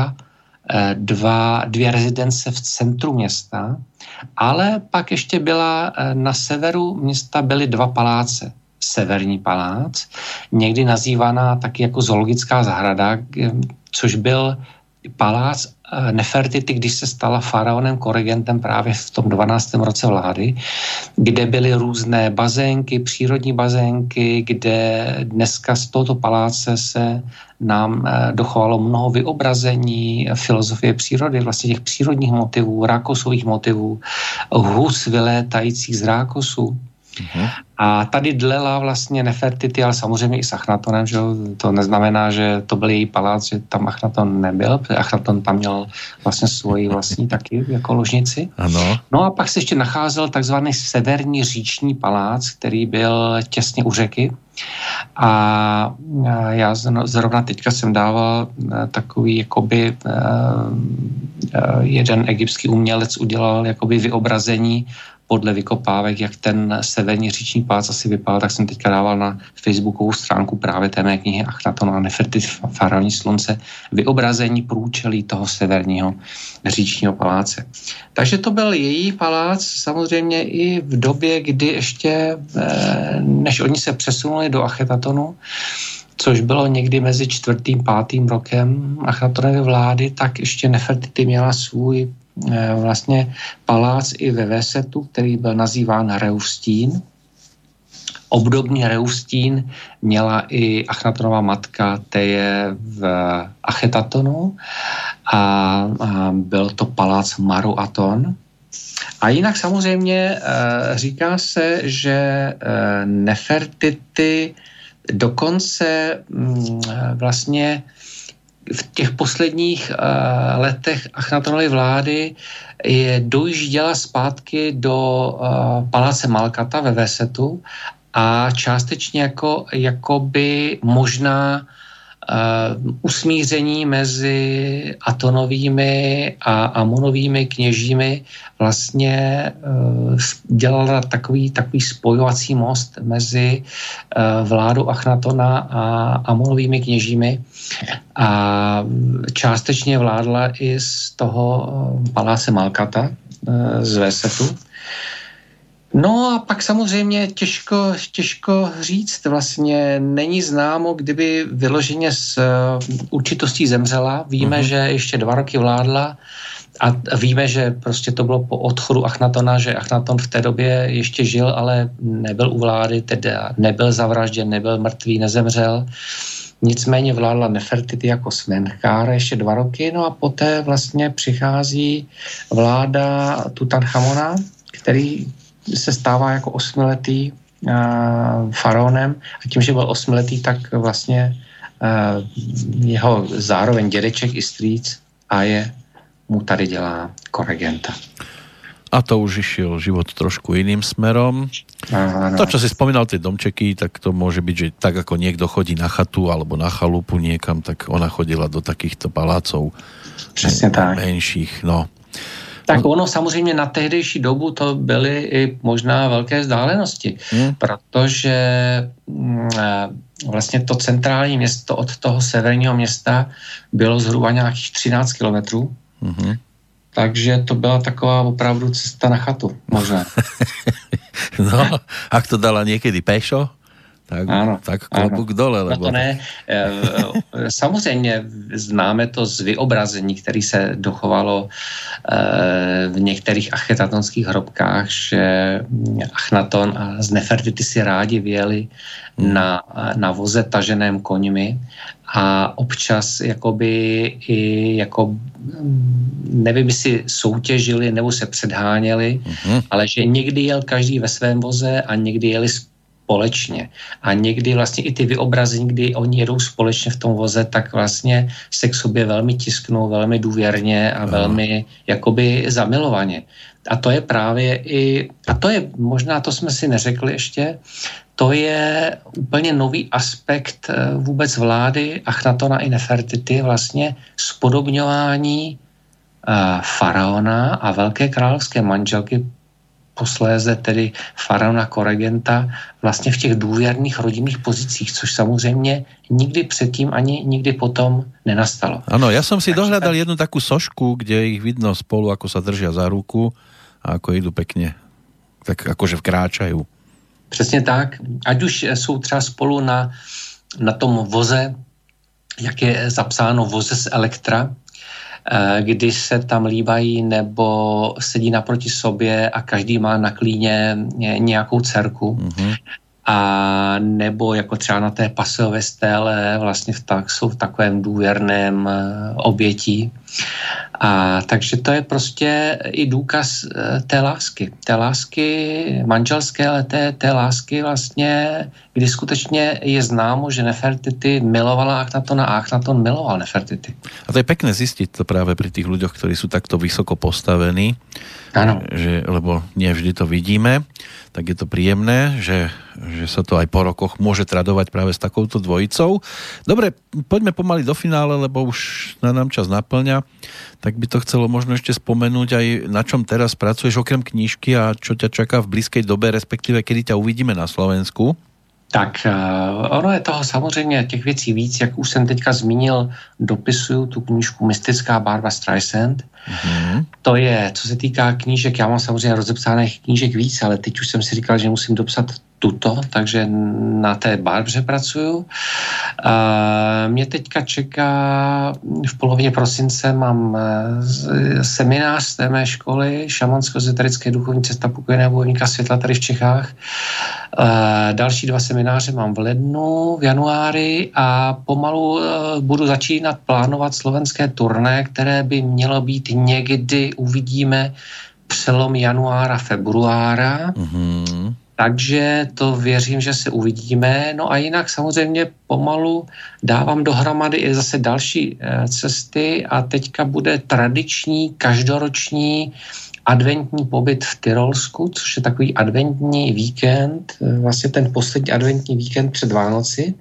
B: dvě rezidence v centru města, ale pak ještě byla na severu města byly dva paláce. Severní palác, někdy nazývaná taky jako zoologická zahrada, což byl palác Nefertiti, když se stala faraonem Koregentem právě v tom 12. roce vlády, kde byly různé bazénky, přírodní bazénky, kde dneska z tohoto paláce se nám dochovalo mnoho vyobrazení filozofie přírody, vlastně těch přírodních motivů, rákosových motivů, hus vylétajících z rákosu. A tady dlela vlastně Nefertiti, ale samozřejmě i s Achnatonem, že to neznamená, že to byl její palác, že tam Achnaton nebyl, protože Achnaton tam měl vlastně svoji vlastní taky jako ložnici.
A: Ano.
B: No a pak se ještě nacházel takzvaný severní říční palác, který byl těsně u řeky. A já zrovna teďka jsem dával takový jakoby jeden egyptský umělec udělal jakoby vyobrazení podle vykopávek, jak ten severní říční palác asi vypadal, tak jsem teďka dával na facebookovou stránku právě té mé knihy Achnaton a Nefertiti faraonní slunce vyobrazení průčelí toho severního říčního paláce. Takže to byl její palác, samozřejmě i v době, kdy ještě, než oni se přesunuli do Achetatonu, což bylo někdy mezi 4. a 5. rokem Achnatonovy vlády, tak ještě Nefertiti měla svůj vlastně palác i ve Vésetu, který byl nazýván Reustín. Obdobný Reustín měla i Achnatonova matka Teje v Achetatonu a byl to palác Maru-Aton. A jinak samozřejmě říká se, že Nefertiti dokonce vlastně v těch posledních letech Achnatonovy vlády dojížděla zpátky do paláce Malkata ve Vésetu a částečně jakoby možná usmíření mezi Atonovými a Amonovými kněžími vlastně dělala takový spojovací most mezi vládou Achnatona a Amonovými kněžími a částečně vládla i z toho paláce Malkata z Vésetu. No a pak samozřejmě těžko říct, vlastně není známo, kdyby vyloženě s určitostí zemřela. Víme, že ještě 2 roky vládla a víme, že prostě to bylo po odchodu Achnatona, že Achnaton v té době ještě žil, ale nebyl u vlády, teda nebyl zavražděn, nebyl mrtvý, nezemřel. Nicméně vládla Nefertiti jako smenchár ještě 2 roky, no a poté vlastně přichází vláda Tutanchamona, který se stává jako 8letý faraonem a tím, že byl 8letý, tak vlastně jeho zároveň dědeček i strýc Aje mu tady dělá koregenta.
A: A to už išiel život trošku iným smerom.
B: Áno.
A: To, čo si spomínal, tie domčeky, tak to môže byť, že tak ako niekto chodí na chatu alebo na chalupu niekam, tak ona chodila do takýchto palácov.
B: Přesně tak.
A: Menších, no.
B: Tak ono samozřejmě na tehdejší dobu to byly i možná velké vzdálenosti, protože vlastně to centrální město od toho severního města bylo zhruba nějakých 13 kilometrů. Takže to byla taková opravdu cesta na chatu, možná.
A: No, ak to dala niekedy pešo, tak,
B: áno,
A: tak klobúk dole. Lebo...
B: No to ne. Samozřejmě známe to z vyobrazení, který se dochovalo v některých achetatonských hrobkách, že Achnaton a z Nefertiti si rádi vyjeli na voze taženém koňmi a občas jakoby i jako nevím, jestli soutěžili nebo se předháněli, ale že někdy jel každý ve svém voze a někdy jeli společně. A někdy vlastně i ty vyobrazení, kdy oni jedou společně v tom voze, tak vlastně se k sobě velmi tisknou, velmi důvěrně a velmi jakoby zamilovaně. A to je právě a to je, možná to jsme si neřekli ještě, to je úplně nový aspekt vůbec vlády Achnatona i Nefertity, vlastně spodobňování faraona a velké královské manželky, posléze tedy faraona Koregenta, vlastně v těch důvěrných rodinných pozicích, což samozřejmě nikdy předtým ani nikdy potom nenastalo.
A: Ano, ja som si dohľadal jednu takú sošku, kde ich vidno spolu, ako sa držia za ruku a ako idú pekne, tak akože vkráčajú.
B: Přesně tak. Ať už jsou třeba spolu na tom voze, jak je zapsáno voze z Elektra, kdy se tam líbají nebo sedí naproti sobě a každý má na klíně nějakou dcerku. Mm-hmm. A nebo jako třeba na té pasové stéle vlastně jsou v takovém důvěrném obětí. A takže to je prostě i důkaz té lásky manželské, ale té lásky vlastně, kdy skutečně je známo, že Nefertiti milovala Achnatona a Achnaton miloval Nefertiti.
A: A to je pekné zistiť to práve pri tých ľuďoch, ktorí sú takto vysoko postavení.
B: Áno.
A: Lebo nie vždy to vidíme, tak je to príjemné, že sa to aj po rokoch môže tradovať práve s takouto dvojicou. Dobre, poďme pomaly do finále, lebo už nám čas naplňa. Tak by to chcelo možno ešte spomenúť aj na čom teraz pracuješ okrem knížky a čo ťa čaká v blízkej dobe, respektíve kedy ťa uvidíme na Slovensku.
B: Tak ono je toho samozřejmě těch věcí víc, jak už jsem teďka zmínil, dopisuju tu knížku Mystická Barbra Streisand. Mm-hmm. To je, co se týká knížek, já mám samozřejmě rozepsaných knížek víc, ale teď už jsem si říkal, že musím dopsat tuto, takže na té Barbře pracuju. Mě teďka čeká v polovině prosince mám seminář z té mé školy šamansko-ezoterické duchovní cesta pokojného bojovníka světla tady v Čechách. Další 2 semináře mám v lednu, v januári a pomalu budu začínat plánovat slovenské turné, které by mělo být někdy, uvidíme, přelom januára, februára. Mm-hmm. Takže to věřím, že se uvidíme. No a jinak samozřejmě pomalu dávám dohromady i zase další cesty a teďka bude tradiční, každoroční adventní pobyt v Tyrolsku, což je takový adventní víkend, vlastně ten poslední adventní víkend před Vánoci.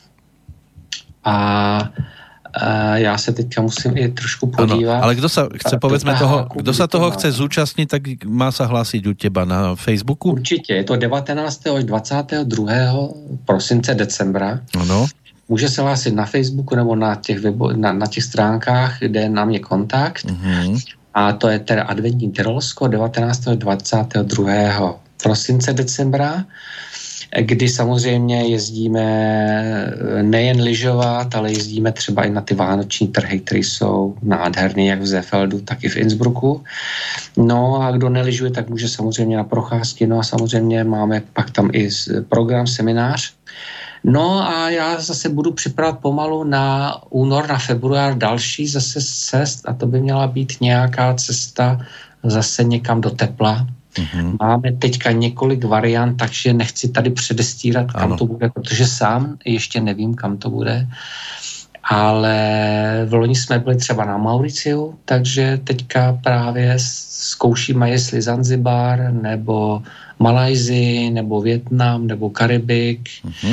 B: A já se teďka musím i trošku podívat.
A: Ano, ale kdo sa chce, povedzme toho, kdo sa toho chce zúčastniť, tak má sa hlásiť u teba na Facebooku?
B: Určitě, je to 19. až 22. prosince decembra.
A: Ano.
B: Může se hlásit na Facebooku nebo na těch stránkách, kde je na mě kontakt. Mm-hmm. A to je teda adventní Tyrolsko 19. až 22. prosince decembra, kdy samozřejmě jezdíme nejen lyžovat, ale jezdíme třeba i na ty vánoční trhy, které jsou nádherné, jak v Seefeldu, tak i v Innsbrucku. No a kdo nelyžuje, tak může samozřejmě na procházky, no a samozřejmě máme pak tam i program, seminář. No a já zase budu připravovat pomalu na únor, na február další zase cest a to by měla být nějaká cesta zase někam do tepla. Mm-hmm. Máme teďka několik variant, takže nechci tady předestírat, kam to bude, protože sám ještě nevím, kam to bude. Ale v loni jsme byli třeba na Mauriciu, takže teďka právě zkoušíme, jestli Zanzibar, nebo Malajzii, nebo Vietnam, nebo Karibik,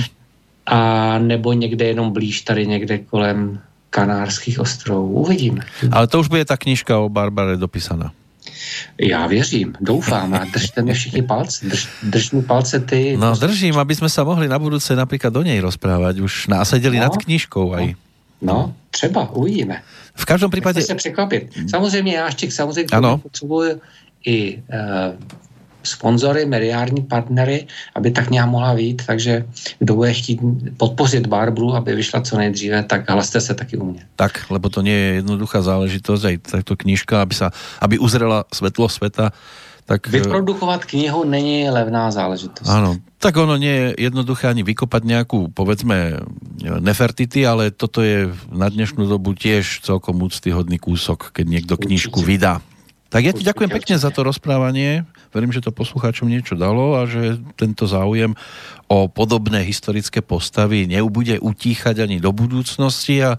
B: a nebo někde jenom blíž, tady někde kolem Kanárských ostrovů. Uvidíme.
A: Ale to už bude ta knižka o Barbare dopísaná.
B: Já věřím, doufám a držte mi všichni palce. Drž mi palce ty.
A: No držím, aby sme sa mohli na budúce napríklad do nej rozprávať. Už násedeli nad knižkou aj.
B: No, třeba, uvidíme.
A: V každom prípade...
B: Nechci se překvapit. Samozřejmě já ještě samozřejmě potřebuji i sponzory, mediální partnery, aby tak nějak mohla vyjít, takže kdo bude chtít podpořit Barbru, aby vyšla co nejdříve, tak hlaste se taky u mě.
A: Tak, lebo to nie je jednoduchá záležitosť, aj takto knižka, aby uzrela svetlo sveta, tak...
B: Vyprodukovat knihu není levná záležitost.
A: Áno, tak ono nie je jednoduché ani vykopať nejakú, povedzme, Nefertiti, ale toto je na dnešnú dobu tiež celkom úctyhodný kúsok, keď niekto knižku vydá. Tak ja ti ďakujem pekne za to rozprávanie. Verím, že to poslucháčom niečo dalo a že tento záujem o podobné historické postavy nebude utíchať ani do budúcnosti a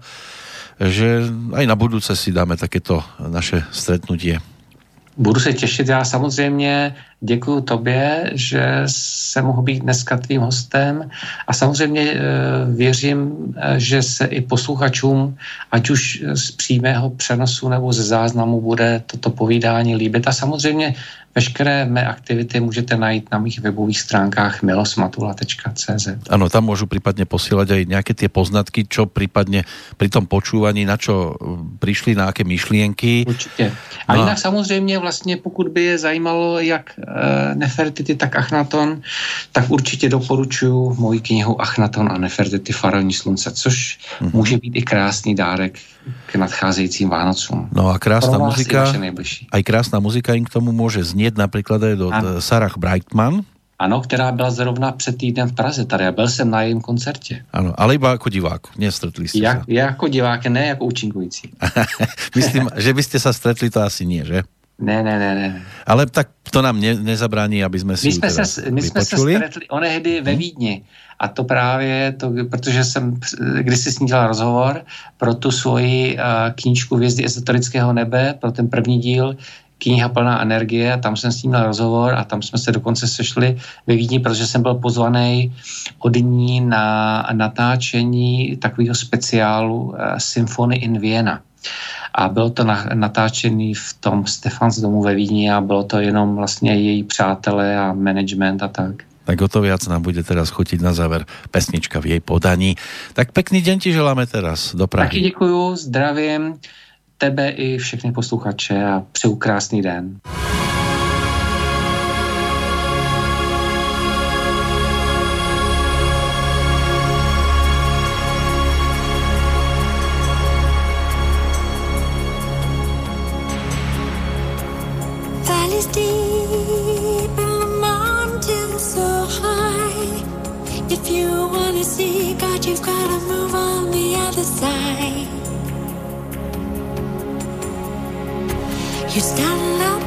A: že aj na budúce si dáme takéto naše stretnutie.
B: Budu se těšit. Já samozřejmě děkuju tobě, že se mohu být dneska tvým hostem a samozřejmě věřím, že se i posluchačům, ať už z přímého přenosu nebo ze záznamu, bude toto povídání líbit. A samozřejmě veškeré mé aktivity můžete najít na mých webových stránkách milosmatula.cz.
A: Áno, tam môžu prípadne posielať aj nejaké tie poznatky, čo prípadne pri tom počúvaní, na čo prišli, na aké myšlienky.
B: Určitě. A jinak samozřejmě vlastně, pokud by je zajímalo jak Nefertiti, tak Achnaton, tak určitě doporučuji moji knihu Achnaton a Nefertiti Faraoni slunce, což může být i krásný dárek k nadcházejícím Vánocům.
A: No a krásna muzika, aj krásna muzika im k tomu môže znieť, napríklad aj do Sarah Brightman.
B: Ano, která byla zrovna před týdnem v Praze tady a byl jsem na jejím koncertě.
A: Ano, ale iba ako divák, nestretli ste sa.
B: Ja ako divák, ne ako účinkující.
A: Myslím, že by ste sa stretli, to asi nie, že?
B: Ne.
A: Ale tak to nám nezabráni, aby sme si
B: My jsme se stretli onehdy ve Vídni. A to právě, protože jsem kdysi s ní dělal rozhovor pro tu svoji knížku Hvězdy ezoterického nebe, pro ten první díl, kniha plná energie, a tam jsem s ním měl rozhovor a tam jsme se dokonce sešli ve Vídni, protože jsem byl pozvaný od ní na natáčení takového speciálu Symphony in Vienna. A bylo to natáčený v tom Stefans domu ve Vídni a bylo to jenom vlastně její přátelé a management a tak.
A: Tak o to viac nám bude teraz chutiť na záver pesnička v jej podaní. Tak pekný deň ti želáme teraz do Prahy.
B: Taky děkuju, zdravím tebe i všechny posluchače a přeju krásný den.
C: Valleys deep and the mountains so high. If you wanna see God, you've gotta move on the other side. You're standing up